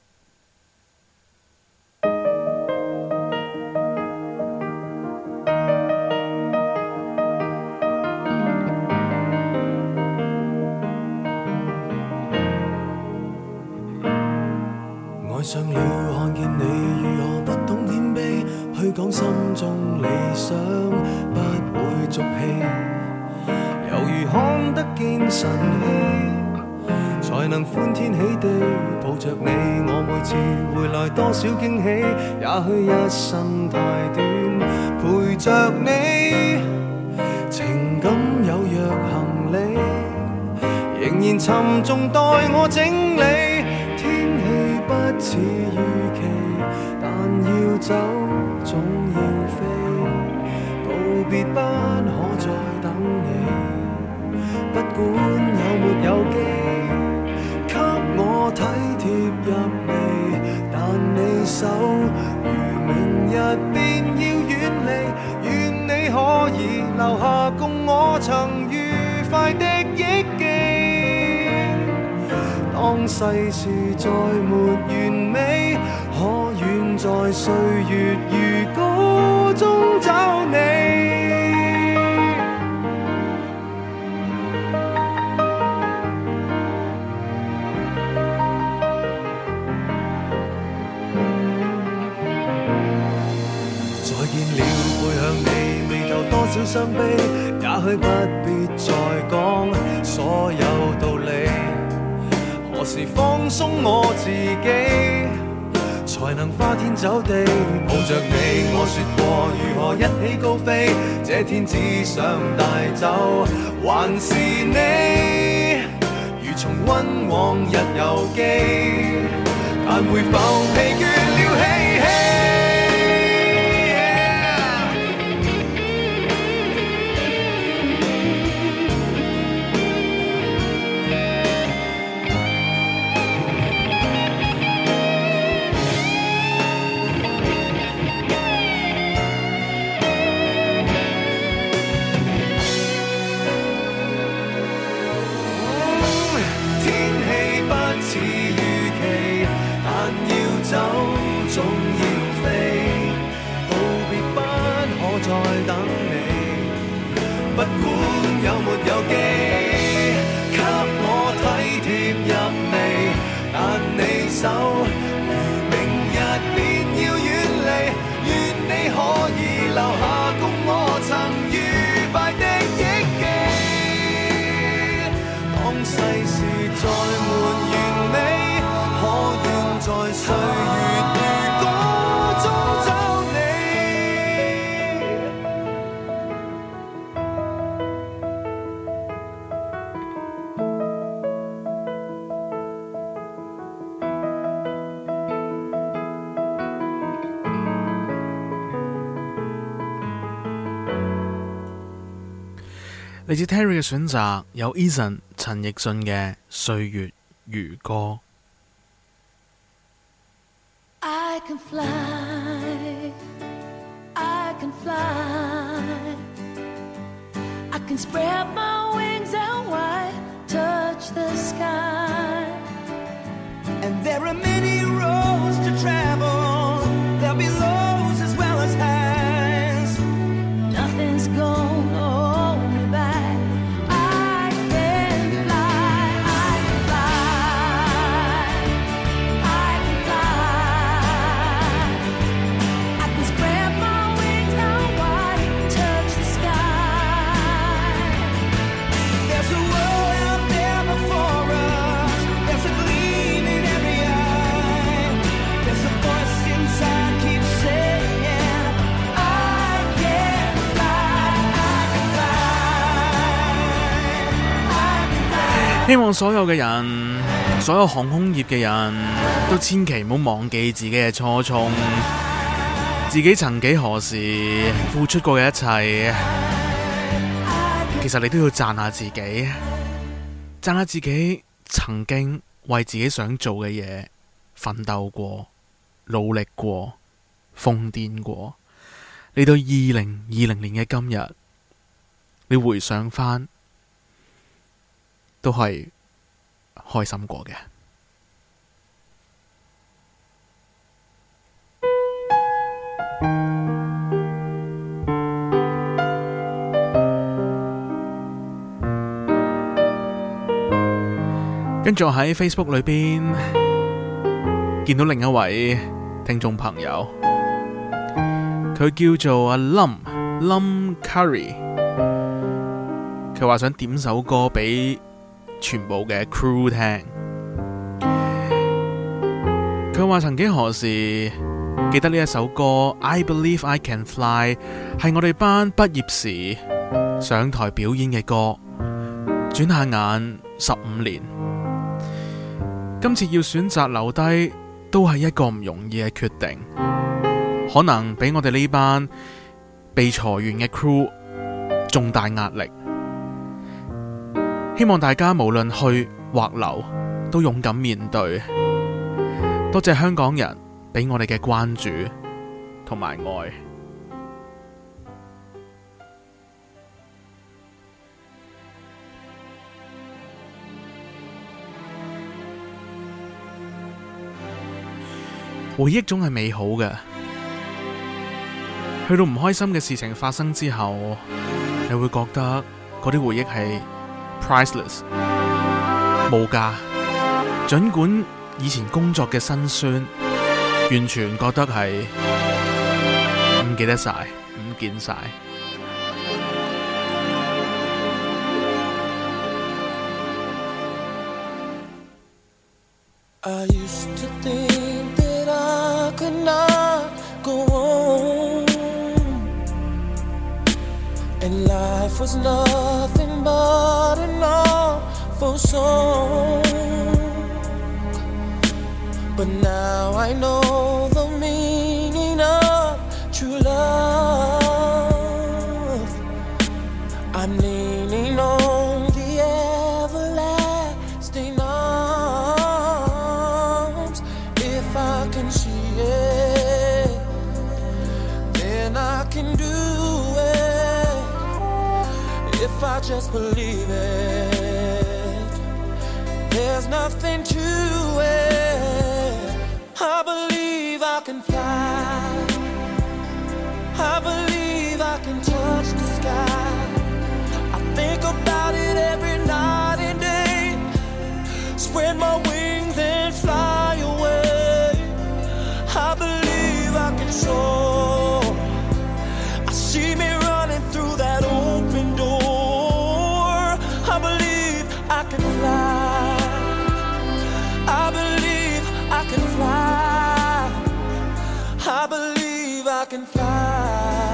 愛上了看見你如何不懂謙卑，去講心中理想不會俗氣，猶如看得見晨曦，才能歡天喜地抱着你。我每次回來多少驚喜，也許一生太短，陪着你，情感有若行李，仍然沉重待我整理。不似預期，但要走總要飛，道別不可再等你，不管有沒有機，給我體貼入微，但你手如明日便要遠離，願你可以留下共我曾愉快的憶記。當世事再沒完美，可願在歲月如歌中找你。再見了，背向你，眉頭多少傷悲，也許不必再講所有道理。何時放鬆我自己，才能花天酒地抱着你？我說過如何一起高飛，這天只想帶走還是你，如重溫往日遊記，但會否疲倦了嬉戲？總要飛，道別不可再等你，不管有沒有機，給我體貼入微，但你手如明日便要遠離，願你可以留下共我曾愉快的憶記。當世事再沒嚟自 Terry 嘅選擇，有 Eason 陳奕迅嘅《歲月如歌》。 I can fly, I can fly, I can spread my wings out wide, touch the sky. And there are many roads to travel, there'll be lows as well as highs. Nothing's gonna hold me back. I can fly, I can fly, I can fly. I can spread my wings out wide, touch the sky. There's a world out there before us, there's a gleam in every eye. There's a voice inside keeps saying, I can fly, I can fly, I can fly. 希望所有嘅人，所有航空業嘅人都千祈唔好忘記自己嘅初衷，自己曾幾何時付出過嘅一切。其實你都要讚下自己，讚下自己曾經為自己想做嘅嘢奮鬥過、努力過、瘋癲過。嚟到二零二零年嘅今日，你回想返都係開心過嘅。跟住我喺 Facebook 裏邊見到另一位聽眾朋友，佢叫做阿 Lum Lum Curry， 佢話想點首歌俾全部嘅 crew 聽。佢話曾幾何時記得呢一首歌 I Believe I Can Fly 係我哋班畢業時上台表演嘅歌，轉下眼十五年。今次要選擇留低，都係一個唔容易嘅決定，可能俾我哋呢班被裁員嘅 crew 重大壓力。希望大家無論去或留，都勇敢面對。多謝香港人俾我哋嘅關注同埋愛。回憶總係美好嘅，去到唔開心嘅事情發生之後，你會覺得嗰啲回憶係 priceless 無價。儘管以前工作嘅辛酸，完全覺得係唔記得晒，唔見晒。 I used to think that I could not go on, and life was nothing but an awful song. But now I know the meaning of true love. I'm leaning on the everlasting arms. If I can see it, then I can do it. If I just believe it, there's nothing to it. I believe I can fly, I believe I can touch the sky. I think about it every night and day, spread my wings and fly away. I believe I can soar, I see me running through that open door. I believe I can fly, I believe I can fly, I believe I can fly.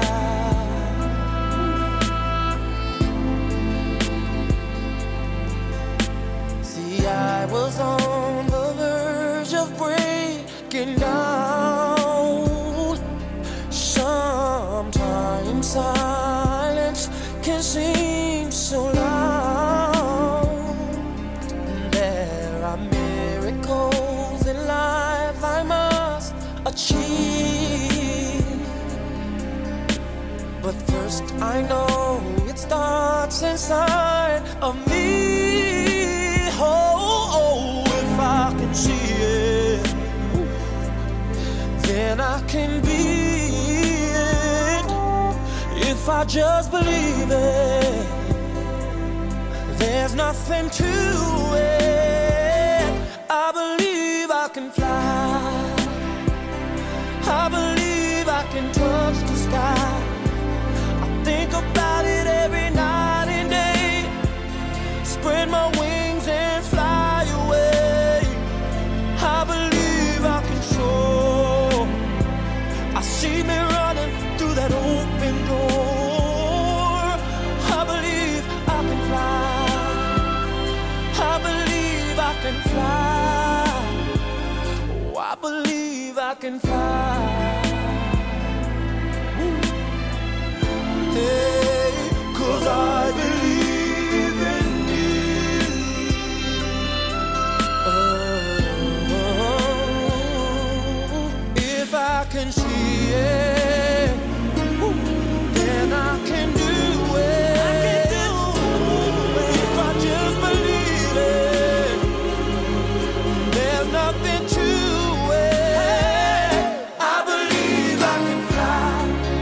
See, I was on the verge of breaking down. Sometimes silence can seem so But first I know it starts inside of me. Oh, oh, if I can see it, then I can be it. If I just believe it, there's nothing to it. I believe I can fly. I believe I can touch the sky. I think about it every night and day. Spread my wings and fly away. I believe I can soar. I see me running through that open door. I believe I can fly. I believe I can fly. Oh, I believe I can fly. Hey, 'cause I believe in you. Oh, if I can see it, then I can do it. I can do it. If I just believe it, there's nothing to it. I believe I can fly.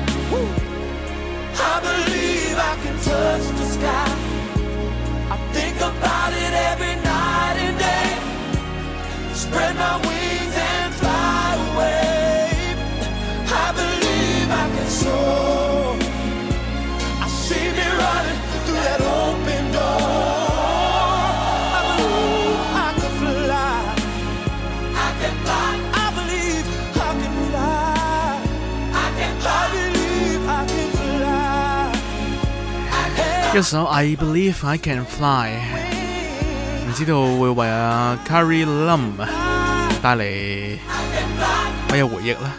I believe I can touch the sky. I think about it every night and day. Spread my wings and fly away. I believe I can soar. I see me running through that open door. I believe I can fly. I can fly. I believe I can fly. I can fly. I believe I can fly. 一首 I Believe I Can Fly， 唔知道會為阿 Carrie Lam 帶嚟乜嘢回憶呢？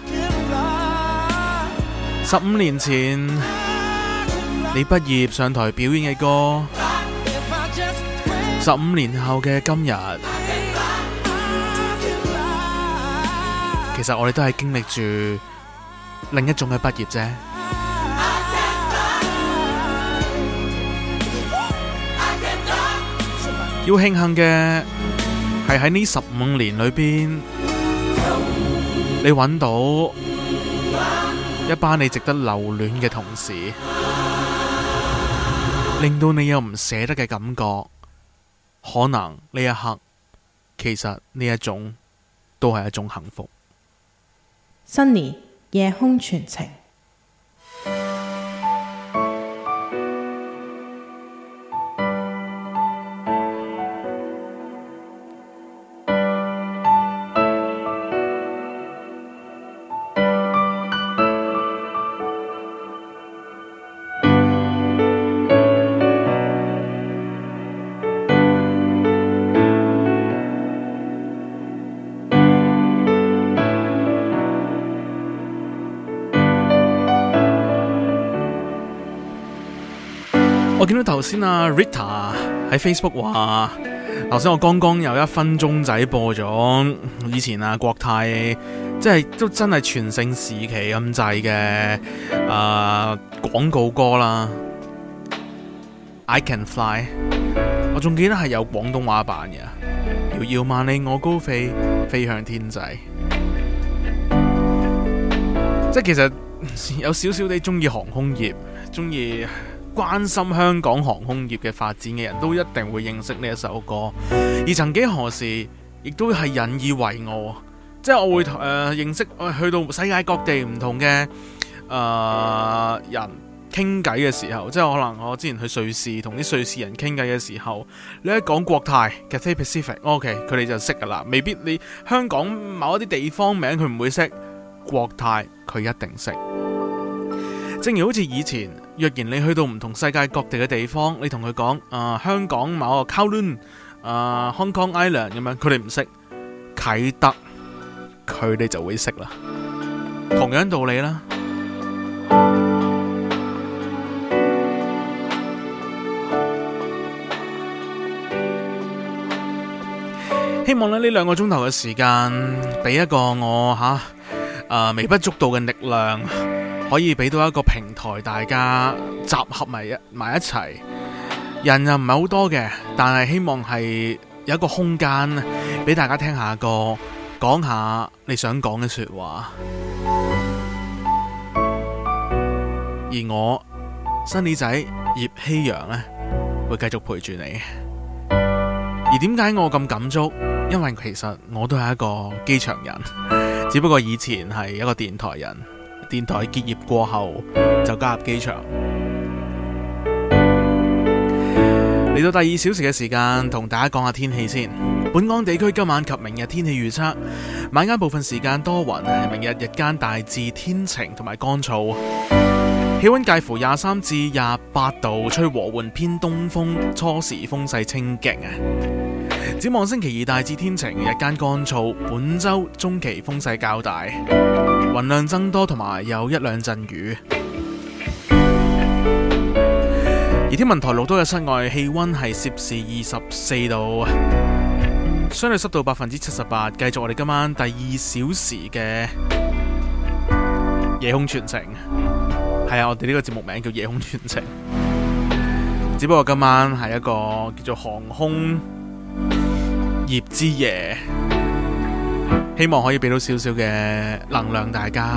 十五年前你畢業上台表演嘅歌，十五年後嘅今日，其實我哋都係經歷住另一種嘅畢業啫。要慶幸嘅係喺呢十五年裏邊，你揾到一班你值得留戀嘅同事，令到你有唔捨得嘅感覺。可能呢一刻，其實呢一種都係一種幸福。 Sunny 夜空傳情。 我見到頭先啊 Rita 喺 Facebook 話，頭先我剛剛有一分鐘仔播咗以前啊國泰，即係都真係全盛時期咁滯嘅啊廣告歌啦。I Can Fly， 我仲記得係有廣東話版嘅，遙遙萬里我高飛，飛向天際。即係其實有少少地中意航空業，中意關心香港航空業嘅發展嘅人都一定會認識呢一首歌，而曾幾何時亦都係引以為傲。即係我會誒、呃、認識、呃、去到世界各地唔同嘅誒、呃、人傾偈嘅時候，即係可能我之前去瑞士同啲瑞士人傾偈嘅時候，你一講國泰 Cathay Pacific，OK， 佢哋就識㗎啦。未必你香港某一啲地方名佢唔會識，國泰佢一定識。正如好似以前，若然你去到唔同世界各地嘅地方，你同佢講啊香港某個 Kowloon 啊 Hong Kong Island 咁樣，佢哋唔識啟德，佢哋就會識啦。同樣道理啦。希望咧呢兩個鐘頭嘅時間，俾一個我吓啊微不足道嘅力量。 可以俾到一個平台，大家集合埋一埋一齊。人又唔係好多嘅，但係希望係有一個空間俾大家聽下歌，講下你想講嘅說話。而我新李仔葉希陽呢，會繼續陪住你。而點解我咁感觸？因為其實我都係一個機場人，只不過以前係一個電台人，電台結業過後就加入機場。嚟到第二小時嘅時間，同大家講下天氣先。本港地區今晚及明日天氣預測：晚間部分時間多雲，明日日間大致天晴同埋乾燥。氣溫介乎廿三至廿八度，吹和緩偏東風，初時風勢清勁啊！展望星期二大致天晴，日間乾燥。本周中期風勢較大，雲量增多同埋有一兩陣雨。而天文台錄到嘅室外氣溫係攝氏二十四度，相對濕度百分之七十八。繼續我哋今晚第二小時嘅夜空傳情。係啊，我哋呢個節目名叫夜空傳情，只不過今晚係一個叫做航空業之夜，希望可以俾到少少嘅能量大家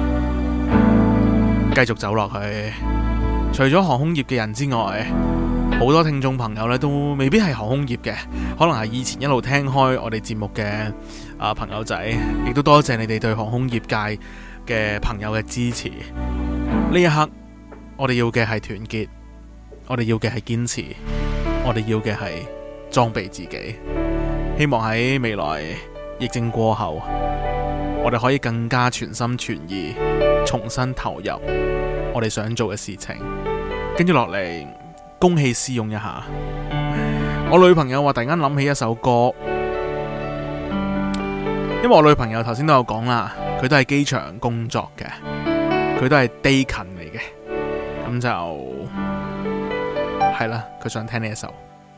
繼續走落去。除咗航空業嘅人之外，好多聽眾朋友咧都未必係航空業嘅，可能係以前一路聽開我哋節目嘅啊朋友仔，亦都多謝你哋對航空業界嘅朋友嘅支持。呢一刻我哋要嘅係團結，我哋要嘅係堅持，我哋要嘅係裝備自己。希望喺未來疫症過後，我哋可以更加全心全意重新投入我哋想做嘅事情。跟住落嚟公器私用一下，我女朋友話突然間諗起一首歌，因為我女朋友頭先都有講啦，佢都係機場工作嘅，佢都係地勤嚟嘅，咁就係啦，佢想聽呢一首。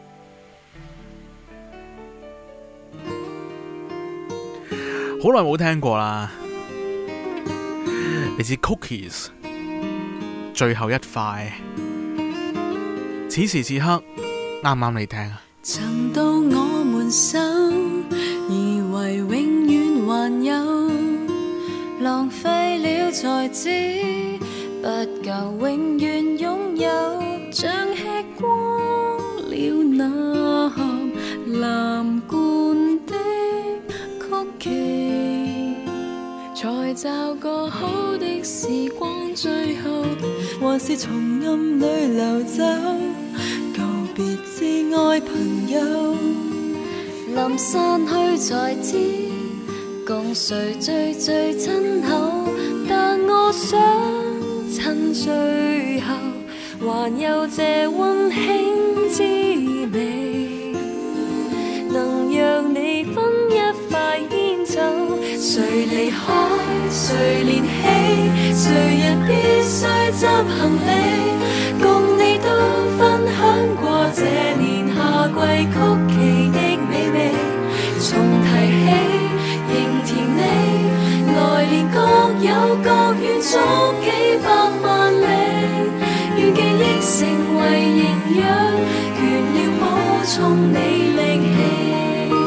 好耐冇聽過啦，嚟自 Cookies 最後一塊，此時此刻啱唔啱你聽啊？ 曾到我們手，以為永遠還有，浪費了才知不夠永遠擁有，像吃光了那盒藍罐的曲奇，才找個好的時光，最後還是從暗裏流走，告別摯愛朋友，臨散去才知共誰最最親厚，但我想趁最後還有這溫馨滋味，能讓你分一塊煙酒。誰離開誰連起，誰人必須執行李，共你都分享過這年夏季曲奇的美味，重提起仍甜你，來年各有各遠足幾百萬里，願記憶成為營養，倦了補充你力氣。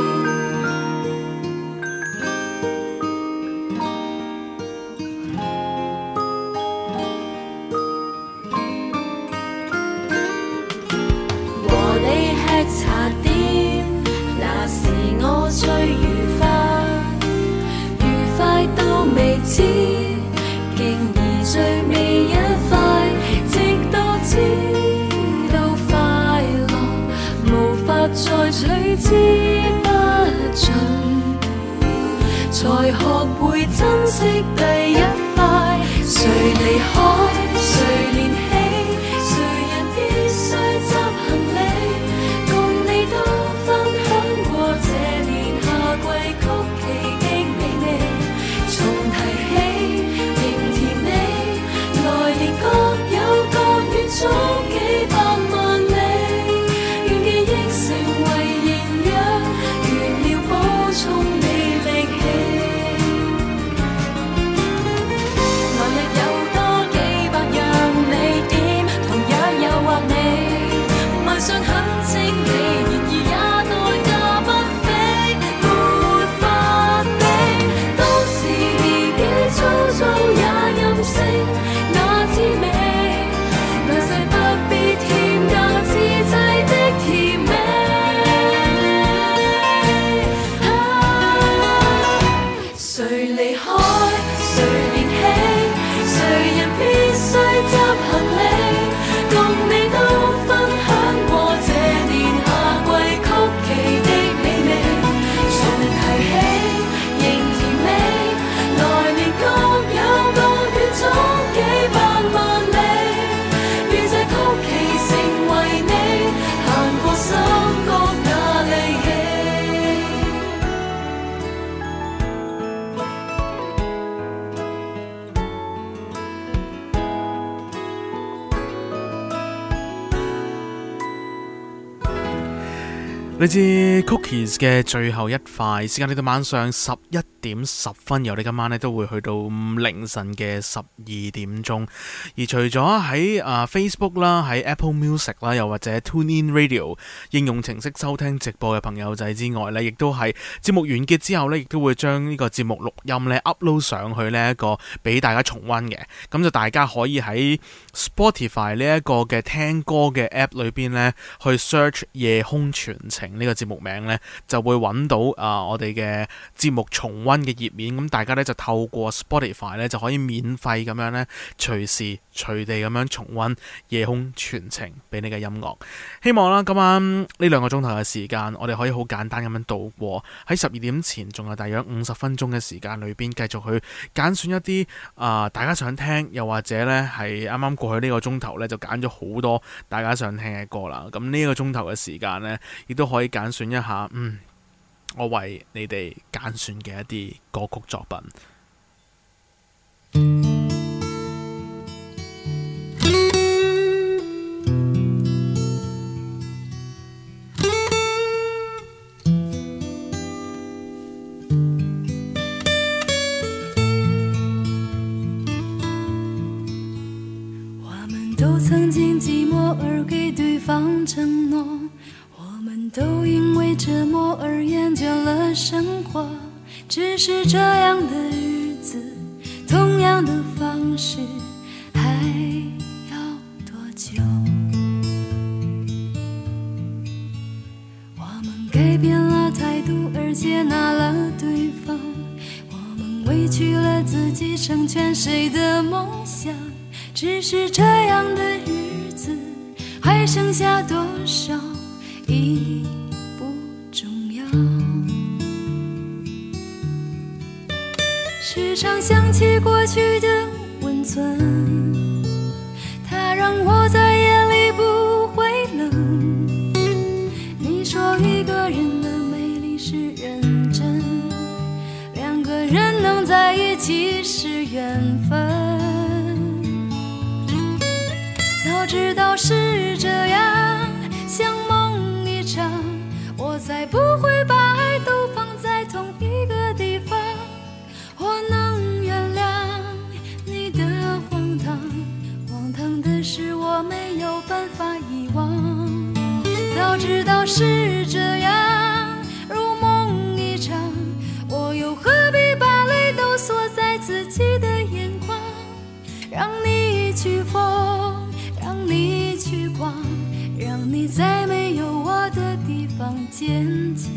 茶點那時我最愉快，愉快到未知，竟而最尾一塊，直到知道快樂無法再取嚟自 Cookies 嘅最後一塊，時間嚟到晚上十一點十分，由你今晚咧都會去到凌晨嘅十二點鐘。而除咗喺啊 Facebook 啦、喺 Apple Music 啦，又或者 TuneIn Radio 應用程式收聽直播嘅朋友仔之外呢，亦都係節目完結之後呢，亦都會將呢個節目錄音呢 upload 上去呢一個俾大家重溫嘅。咁就大家可以喺 Spotify 呢一個嘅聽歌嘅 App 裏邊呢，去 search 夜空傳情呢個節目名呢，就會揾到啊、呃、我哋嘅節目重溫嘅頁面。咁大家呢，就透過 Spotify 呢，就可以免費咁樣呢，隨時隨地咁樣重溫夜空傳情俾你嘅音樂。希望啦今晚呢兩個鐘頭嘅時間，我哋可以好簡單咁樣度過。喺十二點前仲有大約五十分鐘嘅時間裏邊，繼續去揀選一啲啊、呃、大家想聽，又或者呢係啱啱過去呢個鐘頭呢，就揀咗好多大家想聽嘅歌啦。咁呢個鐘頭嘅時間呢，亦都可以揀選一下，嗯，我為你哋揀選嘅一啲歌曲作品。 我們都曾經寂寞而給對方承諾，我們都因為折磨而厭倦了生活，只是這樣的日子，同樣的方式，還要多久？我們改變了態度而接納了對方，我們委屈了自己成全誰的夢想，只是這樣的日子，還剩下多少已不重要。時常想起過去的溫存，它讓我在夜裡不會冷。你說一個人的美麗是認真，兩個人能在一起是緣分。早知道是這樣，像夢一場，我才不會把愛都放在同一個地方。我能原諒你的荒唐，荒唐的是我沒有辦法遺忘。早知道是這樣，如夢一場，我又何必把淚都鎖在自己的眼眶，讓你去瘋，讓你去狂，讓你在沒有我的地方堅強。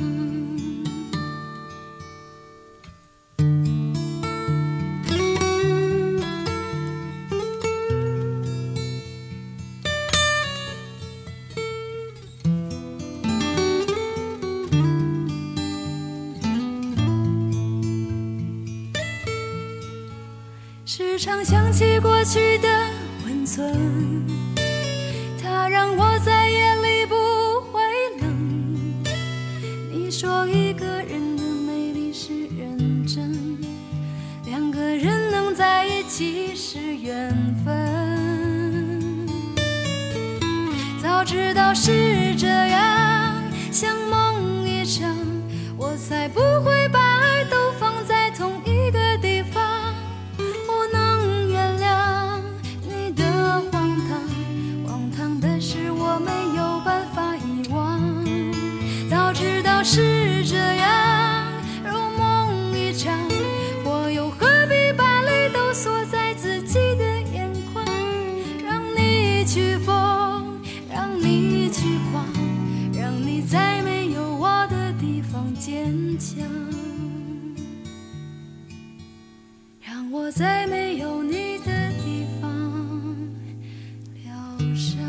時常想起過去的溫存，它讓我在夜裡不會冷。你說一個人的美麗是認真，兩個人能在一起是緣分。早知道是這樣，像夢一場，我才不會把愛都放在同一個地方。是這樣，如夢一場，我又何必把淚都鎖在自己的眼眶，讓你去瘋，讓你去狂，讓你在沒有我的地方堅強，讓我在沒有你的地方療傷。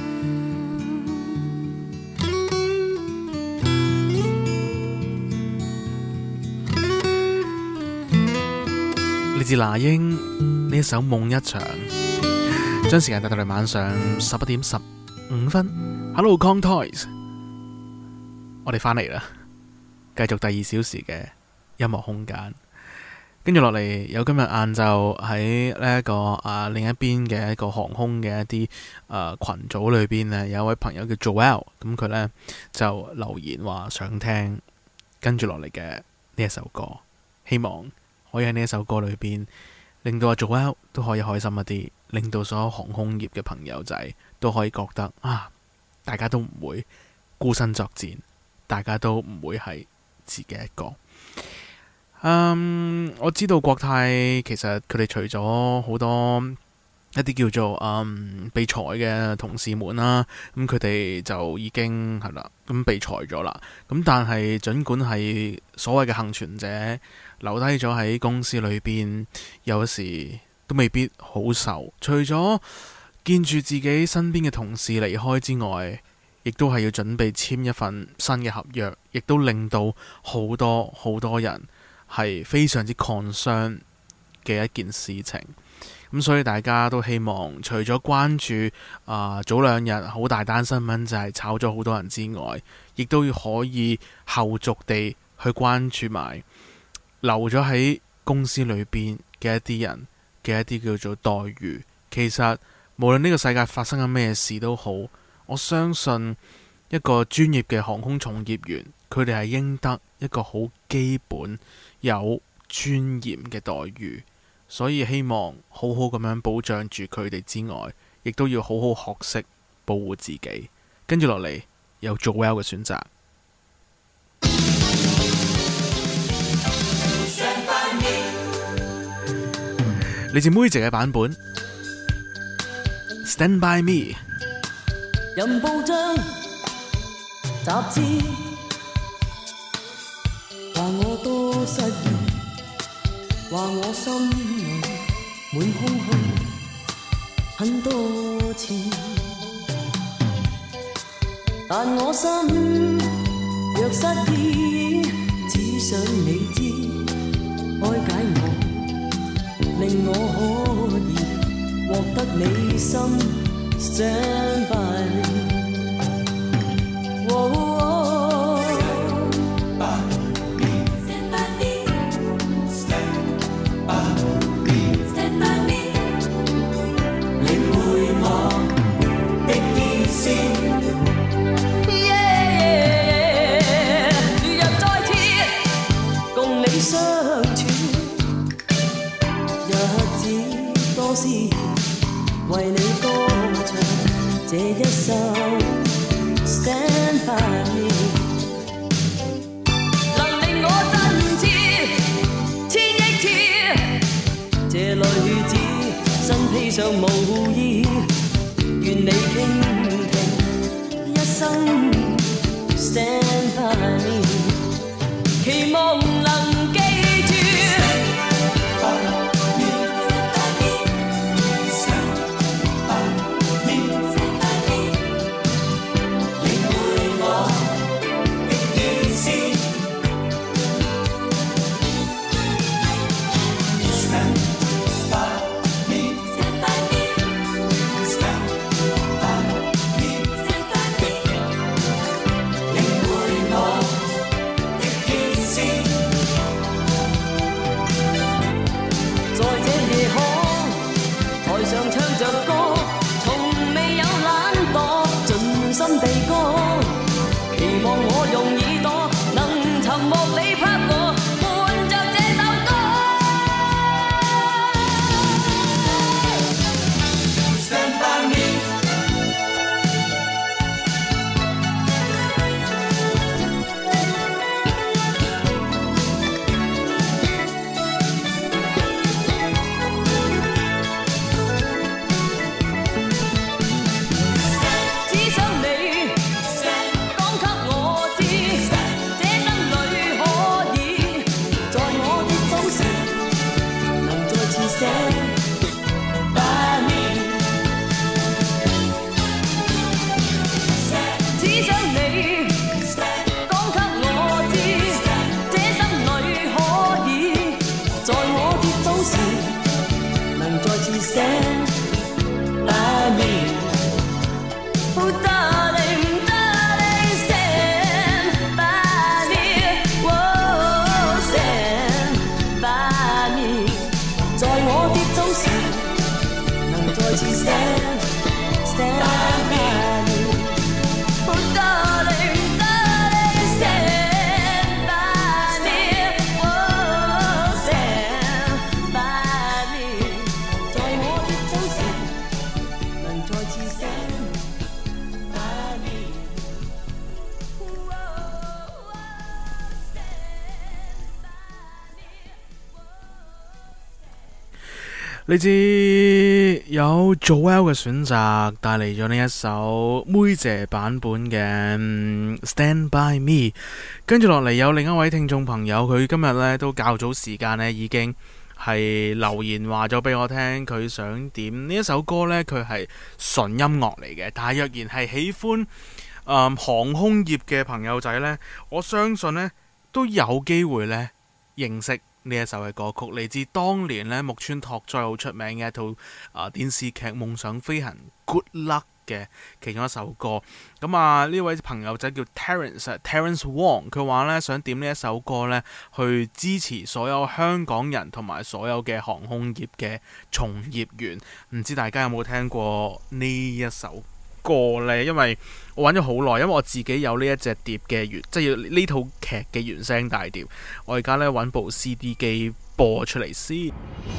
嚟自那英呢一首《夢一場》，將時間帶到嚟晚上十一點十五分。Hello Kong Toys， 我哋翻嚟啦，繼續第二小時嘅音樂空間。 跟住落嚟有今日晏晝喺呢一個啊另一邊嘅一個航空嘅一啲誒、呃、群組裏邊呢，有一位朋友叫 Joel， 咁佢呢就留言話想聽跟住落嚟嘅呢一首歌，希望可以喺呢一首歌裏邊令到阿 Joel 都可以開心一啲，令到所有航空業嘅朋友仔都可以覺得啊，大家都唔會孤身作戰，大家都唔會係自己一個。嗯，我知道國泰其實佢哋除咗好多一啲叫做嗯被裁嘅同事們啦，咁佢哋就已經係啦，咁被裁咗啦。咁但係儘管係所謂嘅幸存者留低咗喺公司裏邊，有時都未必好受。除咗見住自己身邊嘅同事離開之外，亦都係要準備簽一份新嘅合約，亦都令到好多好多人係非常之 concern 嘅一件事情。咁所以大家都希望除咗關注啊、呃、早兩日好大單新聞就係炒咗好多人之外，亦都要可以後續地去關注埋留咗喺公司裏邊嘅一啲人嘅一啲叫做待遇。其實無論呢個世界發生緊咩事都好，我相信一個專業嘅航空從業員，佢哋係應得一個好基本有尊嚴嘅待遇，所以希望好好咁樣保障住佢哋之外，亦都要好好學識保護自己。跟住落嚟有 Joel 嘅選擇，嚟自妹姐嘅版本 Stand by me。 任報章雜誌話我多失意，話我心裏滿空虛很多次，但我心若失意，只想你知，開解我，令我可以獲得你心。Stand by me, oh, oh. Stand by me, stand by me, stand by me, stand by me. 領會我的意思。Yeah, 若再次共你相處，日子多思，為你歌這一首 Stand by me， 能令我真切千億次，這女子身披上無意，願你傾聽一生 Stand by me， 期望能記住。只想你講給我知。 你知有 Joel 嘅選擇帶嚟咗呢一首妹姐版本嘅 Stand By Me， 跟住落嚟有另一位聽眾朋友，佢今日呢都較早時間呢已經係留言話咗俾我聽，佢想點呢一首歌呢，佢係純音樂嚟嘅，但係若然係喜歡、嗯、航空業嘅朋友仔呢，我相信呢都有機會呢認識呢一首嘅歌曲，嚟自當年咧木村拓哉好出名嘅一套啊、呃、電視劇《夢想飛行》Good Luck 嘅其中一首歌。咁啊呢位朋友仔叫 Terence Terence Wong， 佢話咧想點呢一首歌咧去支持所有香港人同埋所有嘅航空業嘅從業員。唔知大家有冇聽過呢一首歌呢？因為我揾咗好耐，因為我自己有呢一隻碟嘅原，即係呢套劇嘅原聲大碟。我而家呢揾部 C D 機播出嚟先。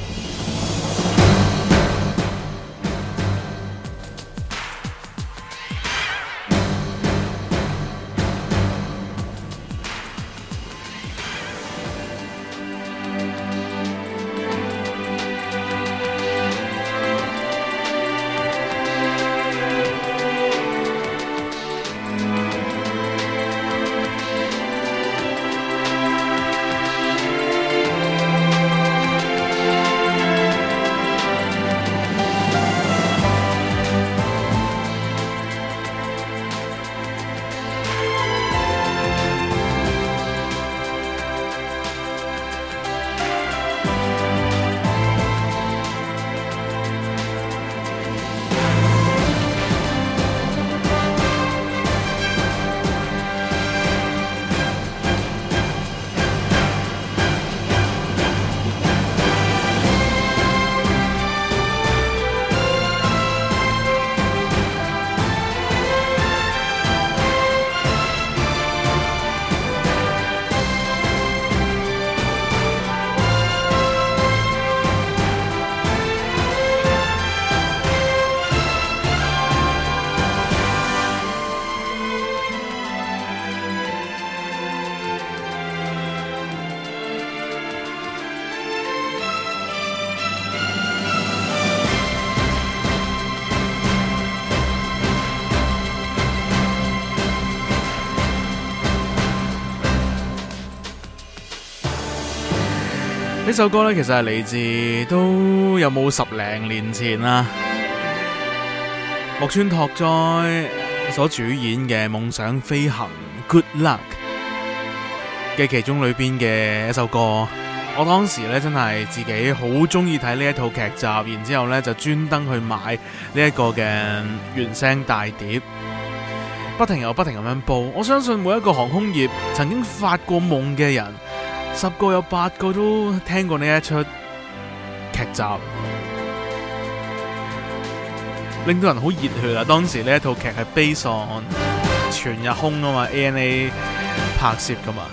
呢首歌呢，其實係嚟自都有冇十零年前啦，木村拓哉所主演嘅《夢想飛行 Good Luck》嘅其中裏邊嘅一首歌。我當時呢，真係自己好中意睇呢一套劇集，然之後呢就專登去買呢一個嘅原聲大碟，不停又不停咁樣播。我相信每一個航空業曾經發過夢嘅人，十個有八個都聽過呢一出劇集，令到人好熱血啊！當時呢一套劇係 based on 全日空啊嘛 ，A N A 拍攝噶嘛。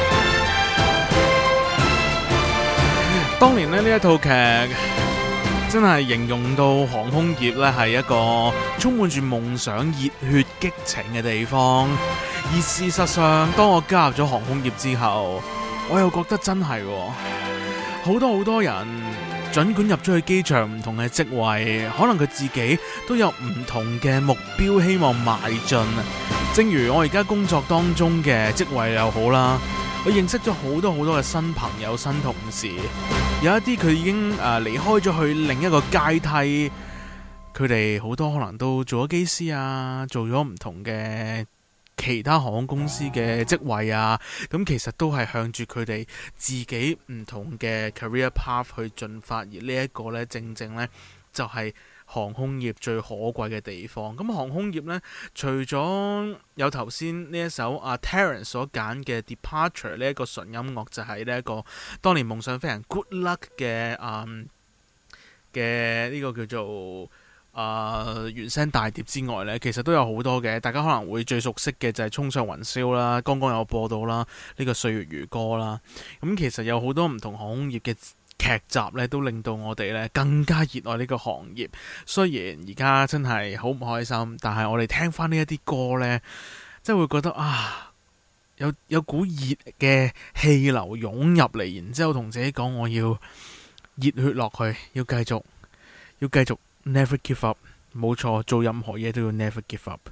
當年呢，呢一套劇真係形容到航空業呢係一個充滿住夢想、熱血、激情嘅地方。而事實上，當我加入咗航空業之後，我又覺得真係好多好多人，儘管入咗去機場唔同嘅職位，可能佢自己都有唔同嘅目標，希望邁進。正如我而家工作當中嘅職位又好啦，我認識咗好多好多嘅新朋友、新同事，有一啲佢已經誒、呃、離開咗去另一個階梯，佢哋好多可能都做咗機師啊，做咗唔同嘅其他航空公司嘅職位啊，咁其實都係向住佢哋自己唔同嘅 career path 去進發，而呢一個呢，正正呢，就係、是、航空業最可貴嘅地方。咁航空業呢，除咗有頭先呢一首阿、啊、Terence 所揀嘅 Departure 呢一個純音樂，就係呢一個當年夢想飛行 Good Luck 嘅嗯嘅呢個叫做啊、呃、原聲大碟之外呢，其實都有好多嘅，大家可能會最熟悉嘅就係衝上雲霄啦，剛剛有播到啦，呢、這個歲月如歌啦。咁其實有好多唔同航空業嘅劇集咧，都令到我哋咧更加熱愛呢個行業。雖然而家真係好唔開心，但係我哋聽翻呢一啲歌呢，真係會覺得啊，有有股熱嘅氣流湧入嚟，然之後同自己講，我要熱血落去，要繼續，要繼續 never give up。冇錯，做任何嘢都要 never give up。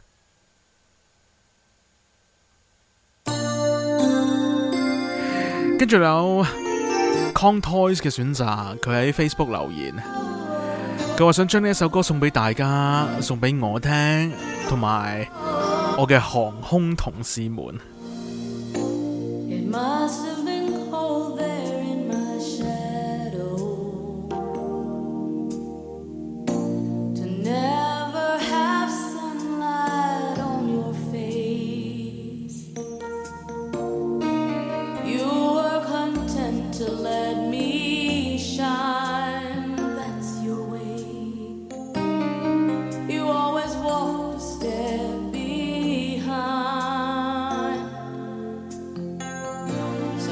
跟住有 Contoys 嘅選擇，佢喺 Facebook 留言，佢話想將呢一首歌送俾大家，送俾我聽，同埋我嘅航空同事們。 It must have been cold there in my shadow to never have sunlight on your face. You were content to let me shine, that's your way. You always walked a step behind. So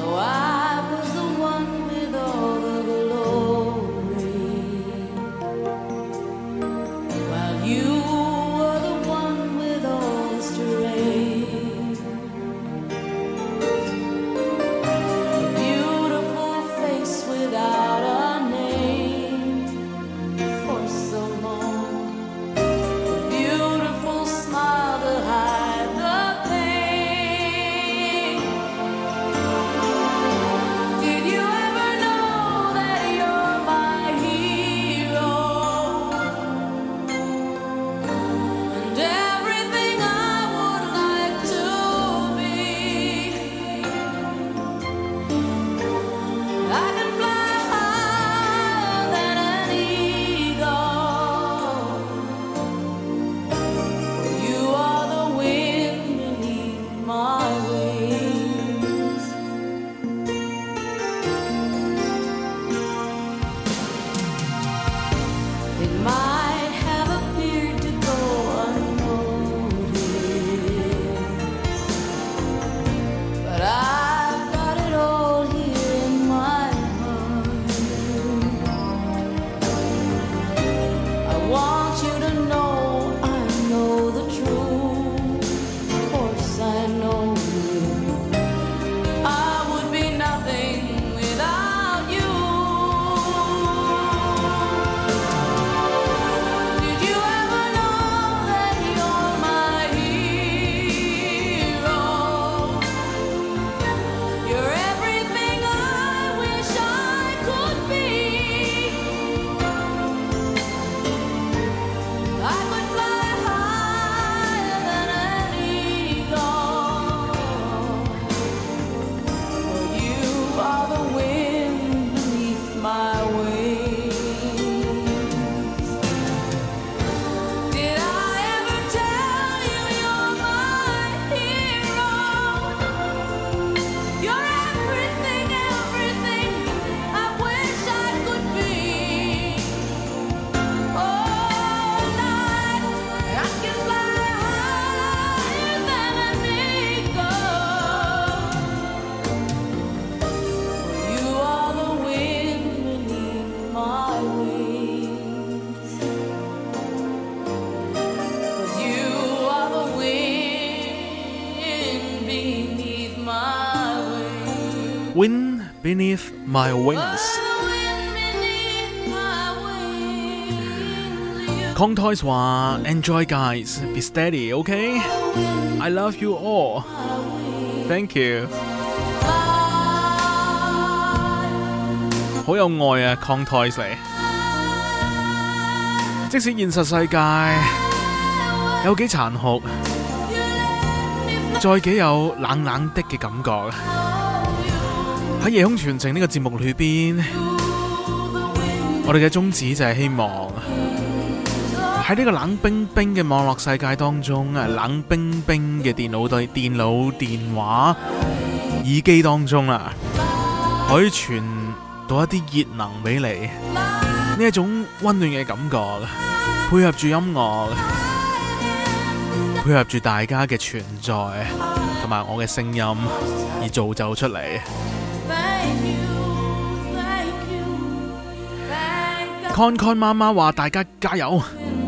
Beneath My Wings。Contoys 話 Enjoy guys, be steady, OK? I love you all. Thank you. 好有愛啊 Contoys 嚟。即使現實世界有幾殘酷，再幾有冷冷的嘅感覺，喺夜空傳情呢個節目裏邊，我哋嘅宗旨就係希望喺呢個冷冰冰嘅網絡世界當中，冷冰冰嘅電腦對電腦電話耳機當中啦，可以傳到一啲熱能俾你，呢一種溫暖嘅感覺，配合住音樂，配合住大家嘅存在同埋我嘅聲音而造就出嚟。Con Con 媽媽話大家加油，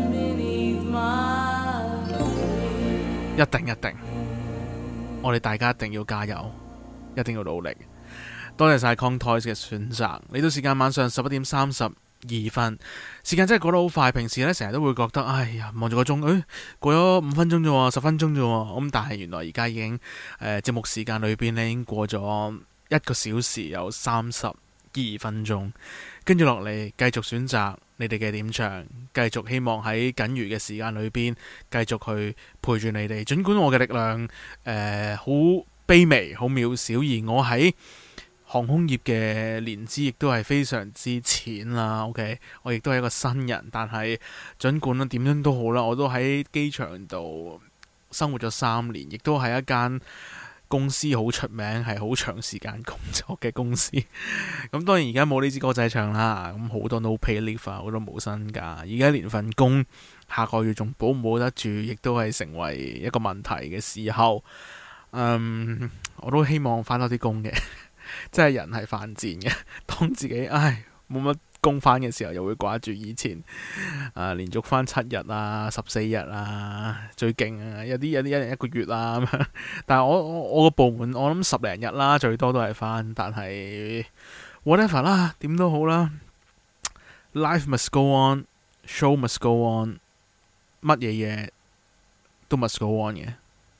一定一定，我哋大家一定要加油，一定要努力。多謝晒 Contoys 嘅選擇。嚟到時間晚上十一點三十二分，時間真係過得好快。平時咧成日都會覺得，哎呀，望住個鐘，誒、哎、過咗五分鐘啫喎，十分鐘啫喎。咁但係原來而家已經誒、呃、節目時間裏邊咧已經過咗一個小時有三十二分鐘。跟住落嚟繼續選擇你哋嘅點唱，繼續希望喺僅餘嘅時間裏邊繼續去陪住你哋。儘管我嘅力量誒好、呃、卑微、好渺小，而我喺航空業嘅年資亦都係非常之淺啦。OK， 我亦都係一個新人，但係儘管點樣都好啦，我都喺機場度生活咗三年，亦都係一間公司好出名，係好長時間工作嘅公司。咁當然而家冇呢支歌仔唱啦，咁好多 no pay leave 啊，好多冇薪假。而家連份工下個月仲保唔保得住，亦都係成為一個問題嘅時候。嗯，我都希望返多啲工嘅，即係人係犯賤嘅。當自己唉冇乜工返嘅時候，又會掛住以前啊，連續返七日啊、十四日啊，最勁啊，有啲有啲一人一個月啊咁樣。但係我我我個部門我諗十零日啦，最多都係返。但係 whatever 啦，點都好啦。Life must go on, show must go on， 乜嘢嘢都 must go on 嘅。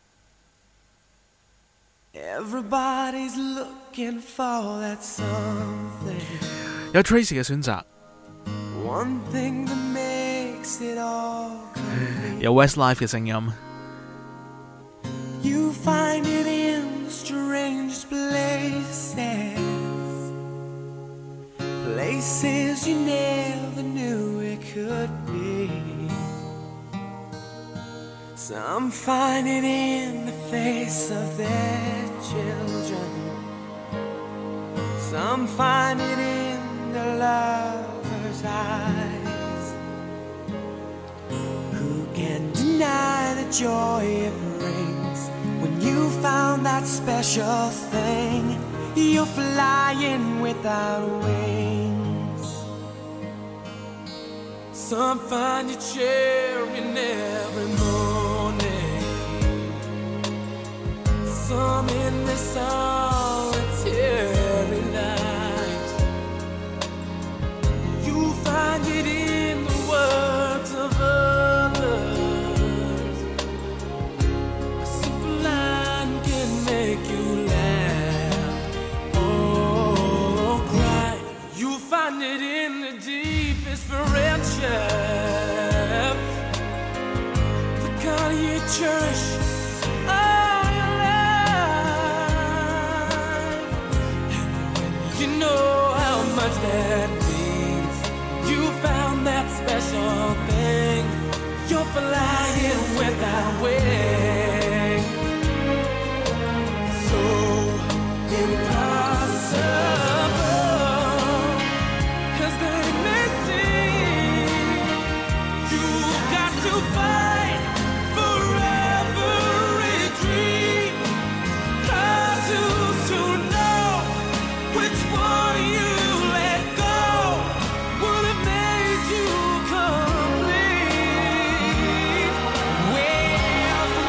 Everybody's looking for that something。 有 Tracy 嘅選擇， One thing that makes it all complete。 有 Westlife 嘅聲音。 You find it in the strangest places, places you never knew it could be. Some find it in the face of their children. Some find it in the lover's eyes. Who can deny the joy it brings when you found that special thing? You're flying without wings. Some find you cheering every morning. Some in the solitary night. You find it in the words of others. A simple line can make you laugh or cry. You find it in the deepest friendship, the kind you cherish all your life. And when you know how much that means, you found that special thing. You're flying without wings. So impossible as they may seem, you've got to fight for every dream. 'Cause who's to know which one you let go would have made you complete? Well,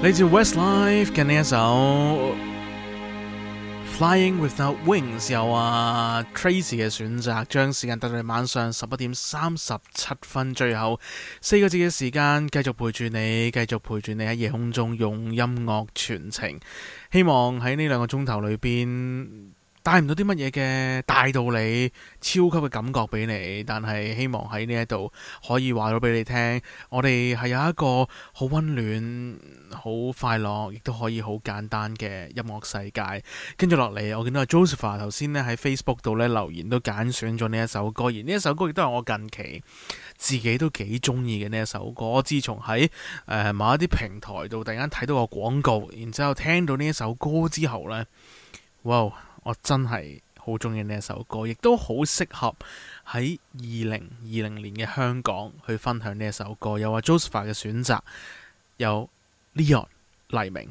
嚟自 Westlife 嘅呢一首 Flying Without Wings， 由啊 Tracy 嘅選擇，將時間帶到晚上十一點三十七分，最後四個字嘅時間，繼續陪住你，繼續陪住你喺夜空中用音樂傳情。希望喺呢兩個鐘頭裏邊帶唔到啲乜嘢嘅大道理、超級嘅感覺俾你，但係希望喺呢一度可以話到俾你聽，我哋係有一個好溫暖、好快樂，亦都可以好簡單嘅音樂世界。跟住落嚟，我見到阿 Joseph 頭先咧喺 Facebook 度咧留言都揀選咗呢一首歌，而呢一首歌亦都係我近期自己都幾中意嘅呢一首歌。我自從喺誒、呃、某一啲平台度突然間睇到個廣告，然之後聽到呢一首歌之後呢，哇！我真係好中意呢一首歌，亦都好適合喺二零二零年嘅香港去分享呢一首歌。有阿 Joseph 嘅選擇，有 Leon 黎明。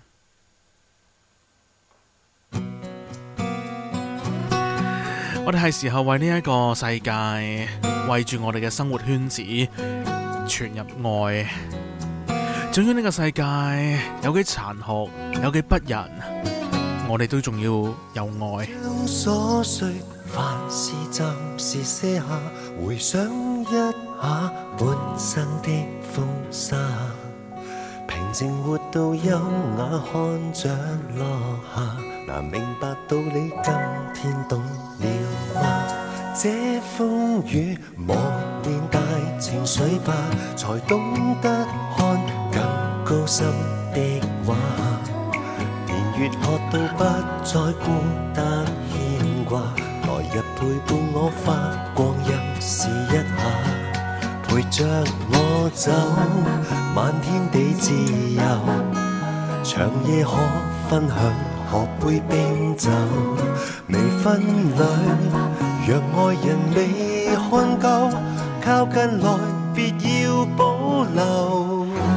我哋係時候為呢一個世界，為住我哋嘅生活圈子傳入愛。總之呢個世界有幾殘酷，有幾不仁，我哋都仲要有愛。 將瑣碎凡事暫時卸下，回想一下半生的風沙，平靜活到優雅，看着落下，難明白道理，今天懂了嗎？這風雨磨練大情緒吧，才懂得看更高深的畫。越學到不再孤單牽掛，來日陪伴我發光陰試一下，陪着我走，漫天地自由，長夜可分享，喝杯冰酒，微醺裏若愛人未看夠，靠近來別要保留。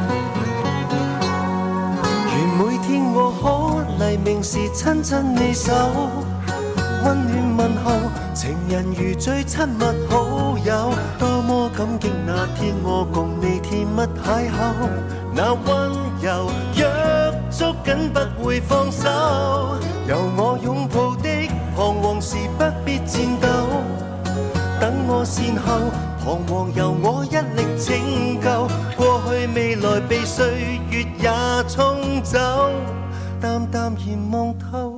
每天我可黎明時親親你手，溫暖問候，情人如最親密好友，多麼感激那天我共你甜蜜邂逅，那溫柔約捉緊不會放手，由我擁抱的彷徨時不必戰鬥，等我善後，彷徨由我一力拯救，過去未來被歲月也沖走，淡淡然望透。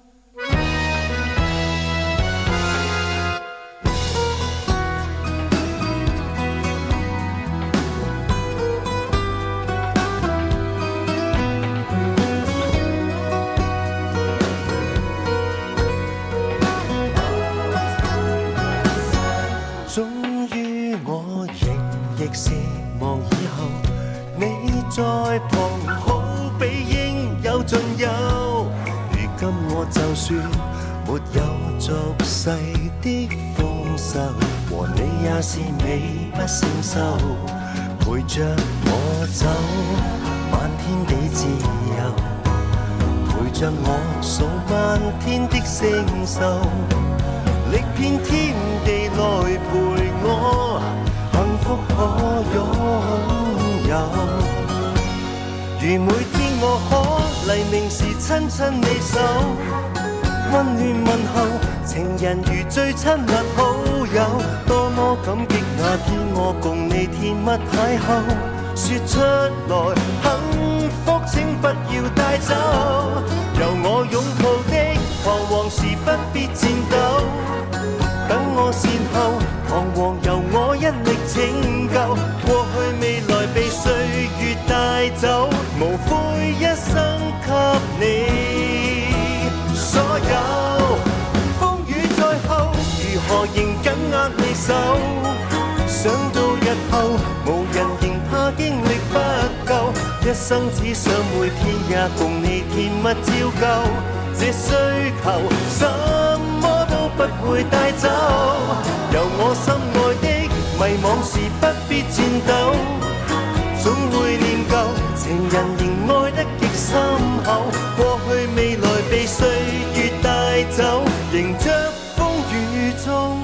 是望以後你在旁，好比應有盡有。如今我就算沒有俗世的豐收，和你也是美不勝收。陪着我走，漫天地自由，陪着我數漫天的星宿，歷遍天地來陪我。幸福可擁有，如每天我可黎明時親親你手，溫暖問候，情人如最親密好友，多麼感激那天我共你甜蜜邂逅，說出來幸福請不要帶走，由我擁抱的彷徨時不必戰鬥，等我善後，彷徨由我一力拯救，過去未來被歲月帶走，無悔一生給你所有。風雨在後，如何仍緊握你手？想到日後，無人仍怕經歷不夠，一生只想每天也共你甜蜜照舊，這需求什麼都不會帶走，由我心愛的迷惘時不必戰鬥，總會念舊，情人仍愛得極深厚，過去未來被歲月帶走，迎着風雨中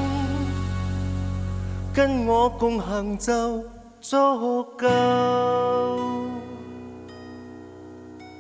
跟我共行就足夠。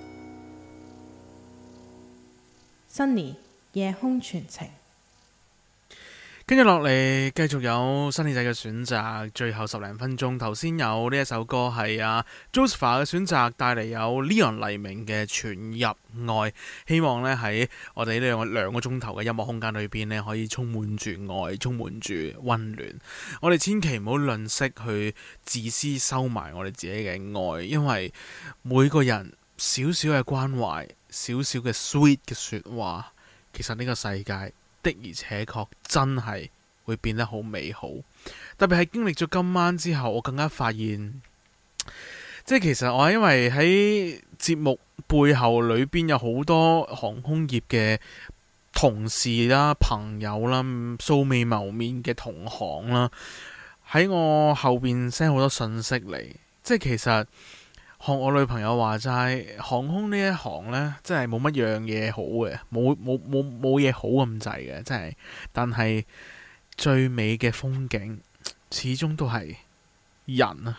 Sunny 夜空傳情。 跟住落嚟，繼續有新耳仔嘅選擇，最後十零分鐘。頭先有呢一首歌係啊 Josepha 嘅選擇，帶嚟有 Leon 黎明嘅《傳入愛》。希望呢喺我哋呢兩個兩個鐘頭嘅音樂空間裏邊呢，可以充滿住愛，充滿住溫暖。我哋千祈唔好吝嗇去自私收埋我哋自己嘅愛，因為每個人少少嘅關懷，少少嘅 sweet 嘅說話，其實呢個世界的而且確真係會變得好美好，特別係經歷咗今晚之後，我更加發現，即係其實我因為喺節目背後裏邊有好多航空業嘅同事啦、朋友啦、素未謀面嘅同行啦，喺我後邊 send 好多信息嚟，即係其實學我女朋友話齋，航空呢一行呢，真係冇乜樣嘢好嘅，冇冇冇冇嘢好咁滯嘅，真係。但係最美嘅風景，始終都係人啊！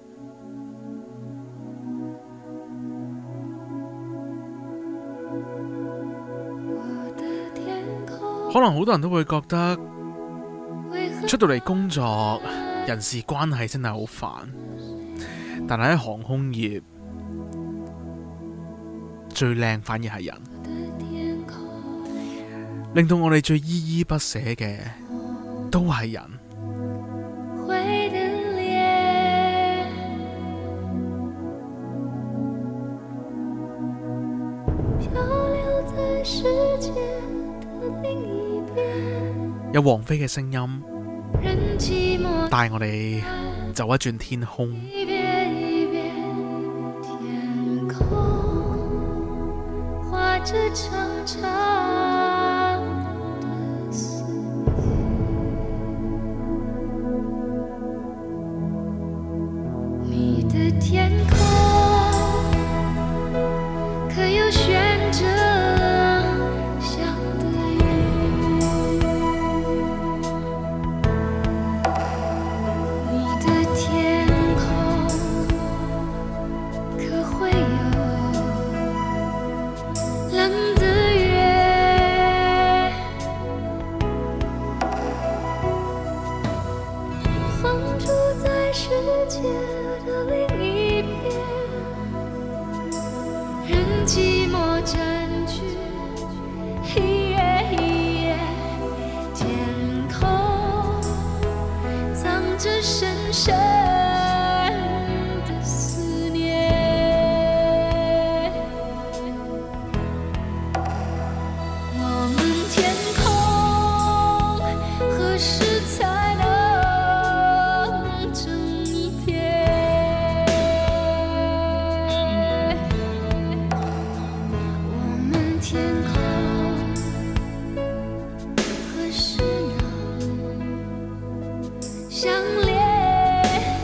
可能好多人都會覺得出到嚟工作，人事關係真係好煩。但係喺航空業最靚反而係人，令到我哋最依依不捨嘅都係人。有王菲嘅聲音帶我哋走一轉天空。 這長長的思念，你的天空可有懸着香的雲？你的天空可會有冷的月，放逐在世界的另一邊，任寂寞佔據一夜一夜，天空藏着深深的思念。相戀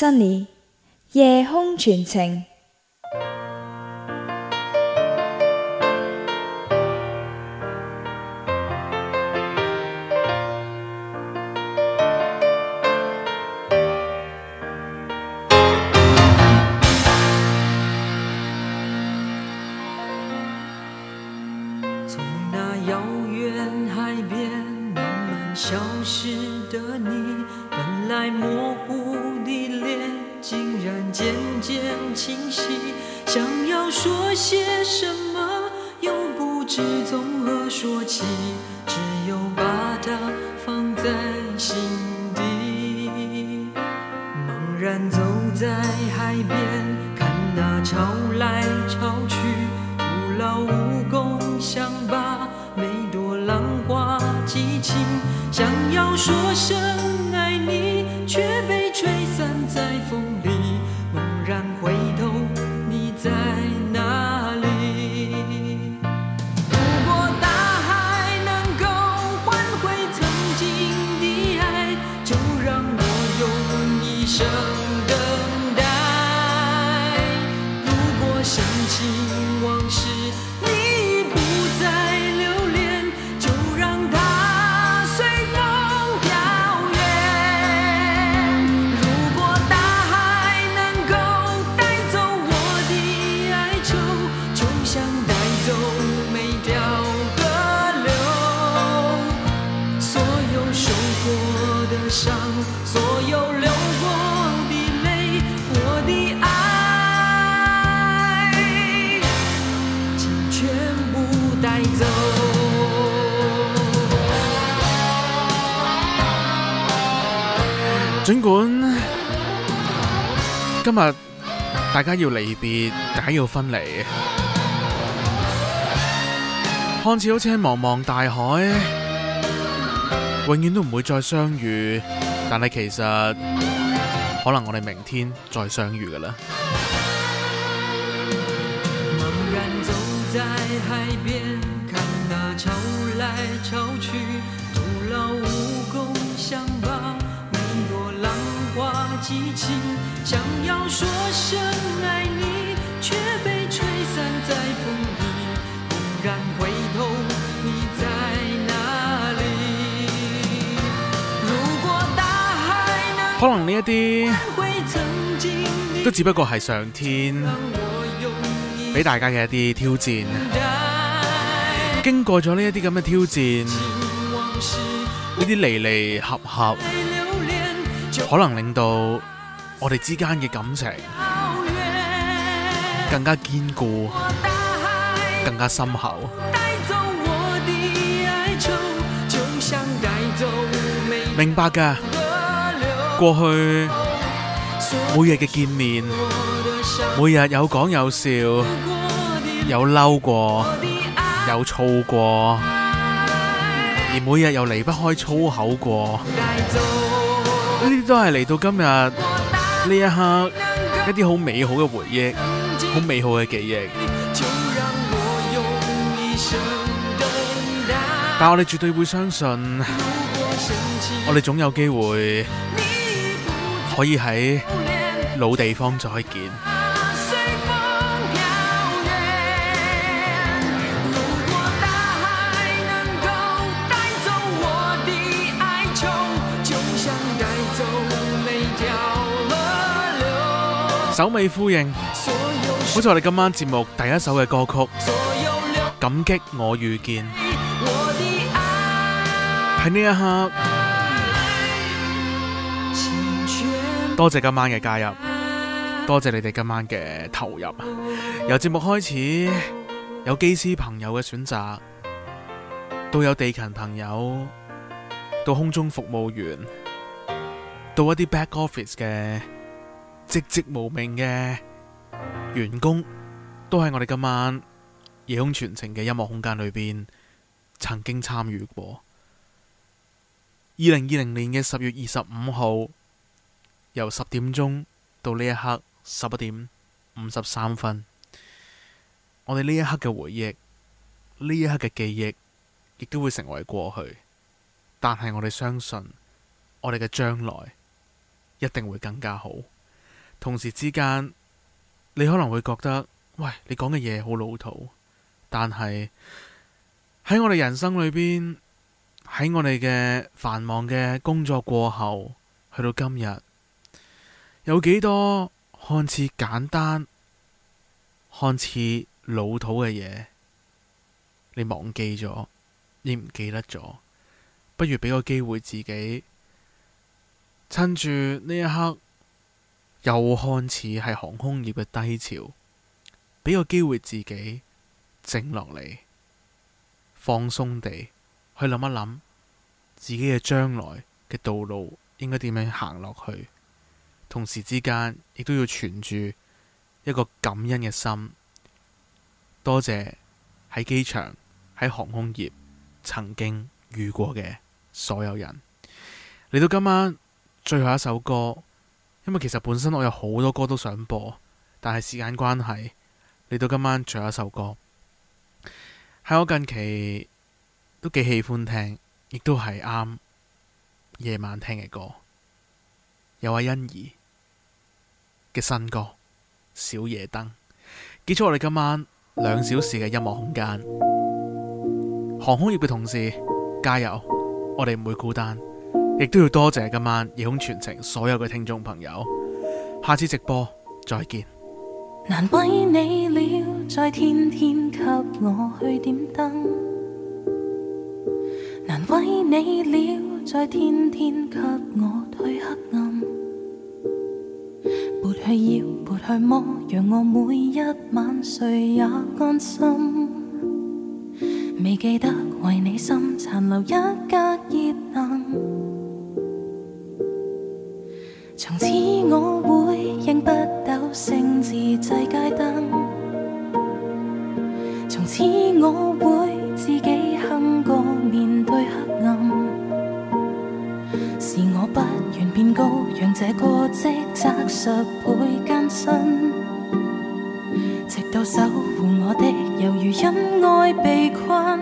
Sunny 夜空傳情。 从那遥远海边慢慢消失的你，本来模糊的脸竟然渐渐清晰，想要说些什么又不知从何说起，只有把它放在心底。茫然走在海边，看那潮来潮去，徒劳无功，想把每朵浪花记清，想要说声爱你，却被吹散在风里。猛然回头，你在哪里？如果大海能够换回曾经的爱，就让我用一生等待。如果深情往事你已不再留恋，就让它随风飘远。如果大海能够带走我的哀愁，就像带走每条河流。所有受过的伤，所有流过的泪，我的爱请全部带走。 儘管今日大家要離別，大家要分離，看似好似喺茫茫大海，永遠都唔會再相遇，但係其實可能我哋明天再相遇㗎喇。 茫然走在海邊，看那潮來潮去，徒勞無功，想把每朵浪花記清，想要說聲愛你，卻被吹散在風裡。猛然回頭，你在哪裡？如果大海能可能呢一啲回曾經的都只不過係上天俾大家嘅一啲挑戰。經過咗呢一啲咁嘅挑戰，呢啲離離合合，可能令到我哋之間嘅感情更加堅固，更加深厚。明白㗎，過去每日嘅見面，每日有講有笑，有嬲過，有燥過，而每日又離不開粗口過，呢啲都係嚟到今日呢一刻一啲好美好嘅回憶，好美好嘅記憶。但我哋絕對會相信，我哋總有機會可以喺老地方再見。首尾呼應，好似我哋今晚節目第一首嘅歌曲《感激我遇見》。喺呢一刻，多謝今晚嘅加入，多謝你哋今晚嘅投入。由節目開始，有機師朋友嘅選擇，到有地勤朋友，到空中服務員，到一啲 back office 嘅寂寂無名嘅員工，都喺我哋今晚夜空傳情嘅音樂空間裏邊曾經參與過。二零二零年嘅十月二十五號，由十點鐘到呢一刻十一點五十三分，我哋呢一刻嘅回憶，呢一刻嘅記憶，亦都會成為過去。但係我哋相信，我哋嘅將來一定會更加好。 同時之間你可能會覺得，喂，你講嘅嘢好老土，但係喺我哋人生裏邊，喺我哋嘅繁忙嘅工作過後，去到今日，有幾多看似簡單、看似老土嘅嘢，你忘記咗，你唔記得咗，不如俾個機會自己，趁住呢一刻又看似係航空業嘅低潮，俾個機會自己靜落嚟，放鬆地去諗一諗自己嘅將來嘅道路應該點樣行落去，同時之間亦都要存住一個感恩嘅心，多謝喺機場、喺航空業曾經遇過嘅所有人。嚟到今晚最後一首歌，因為其實本身我有好多歌都想播，但係時間關係，嚟到今晚最後一首歌，喺我近期都幾喜歡聽，亦都係啱夜晚聽嘅歌，有阿欣宜嘅新歌《小夜燈》，結束我哋今晚兩小時嘅音樂空間。航空業嘅同事加油，我哋唔會孤單，亦都要多謝今晚夜空傳情所有嘅聽眾朋友。下次直播再見。 難為你了，再天天給我去點燈，難為你了，再天天給我退黑暗，撥去搖，撥去摸，讓我每一晚睡也安心。未記得為你心殘留一格熱能，從此我會認不抖星自制街燈，從此我會自己哼歌面對黑暗，是我不願變高，讓這個職責十倍艱辛，直到守護我的猶如因愛被困，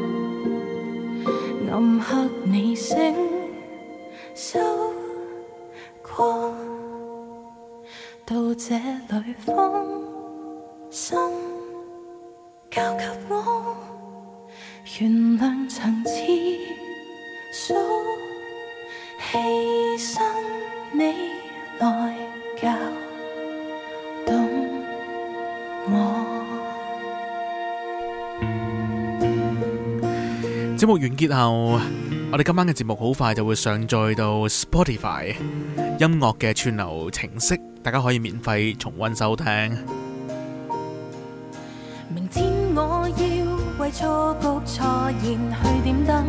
暗黑你醒收光，到這裏放心交給我，原諒曾次數犧牲你來教懂我。 節目完結後，我哋今晚嘅節目好快就會上載到 Spotify 音樂嘅串流程式，大家可以免費重溫收聽。 明天我要為錯局錯言去點燈，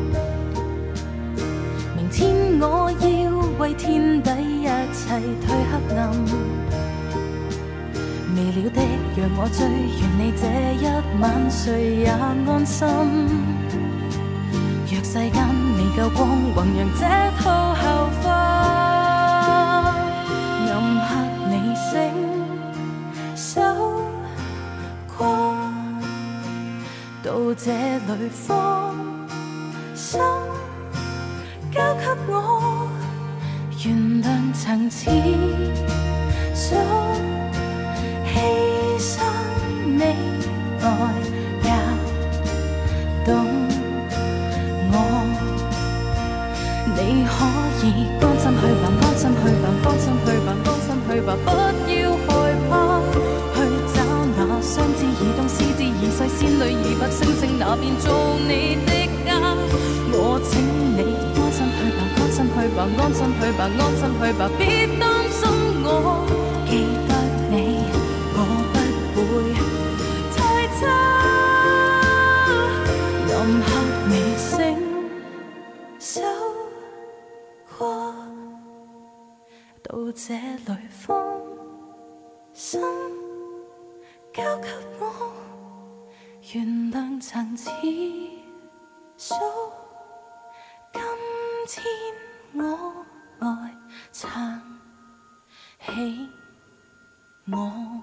明天我要為天底一切退黑暗，未了的讓我追，願你這一晚睡也安心。若世間未夠光，宏揚這套後花，暗黑你醒收光，到這裏放心交給我，原諒曾次數犧牲你來教懂你可以安心去吧，安心去吧，安心去吧，安心去吧，不要害怕，去找那雙翅移動、獅子移細、仙女移拔、星星那邊做你的家。我請你安心去吧，安心去吧，安心去吧，安心去吧，別擔心我，記得你，我不會太差。暗黑你醒收過，到這裏放心交給我，原諒曾次數，今天我來撐起我。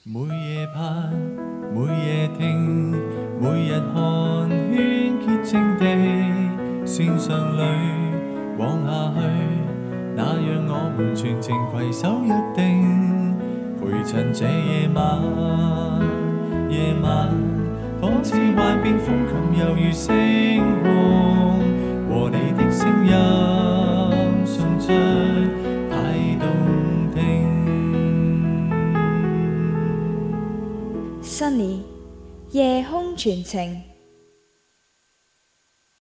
每夜盼，每夜聽，每日看，圈潔淨地線上裏往下去，那讓我們全程攜手約定，陪襯這夜晚，夜晚仿似幻變風琴，猶如星空，和你的聲音送出太動聽。 Sunny 夜空傳情。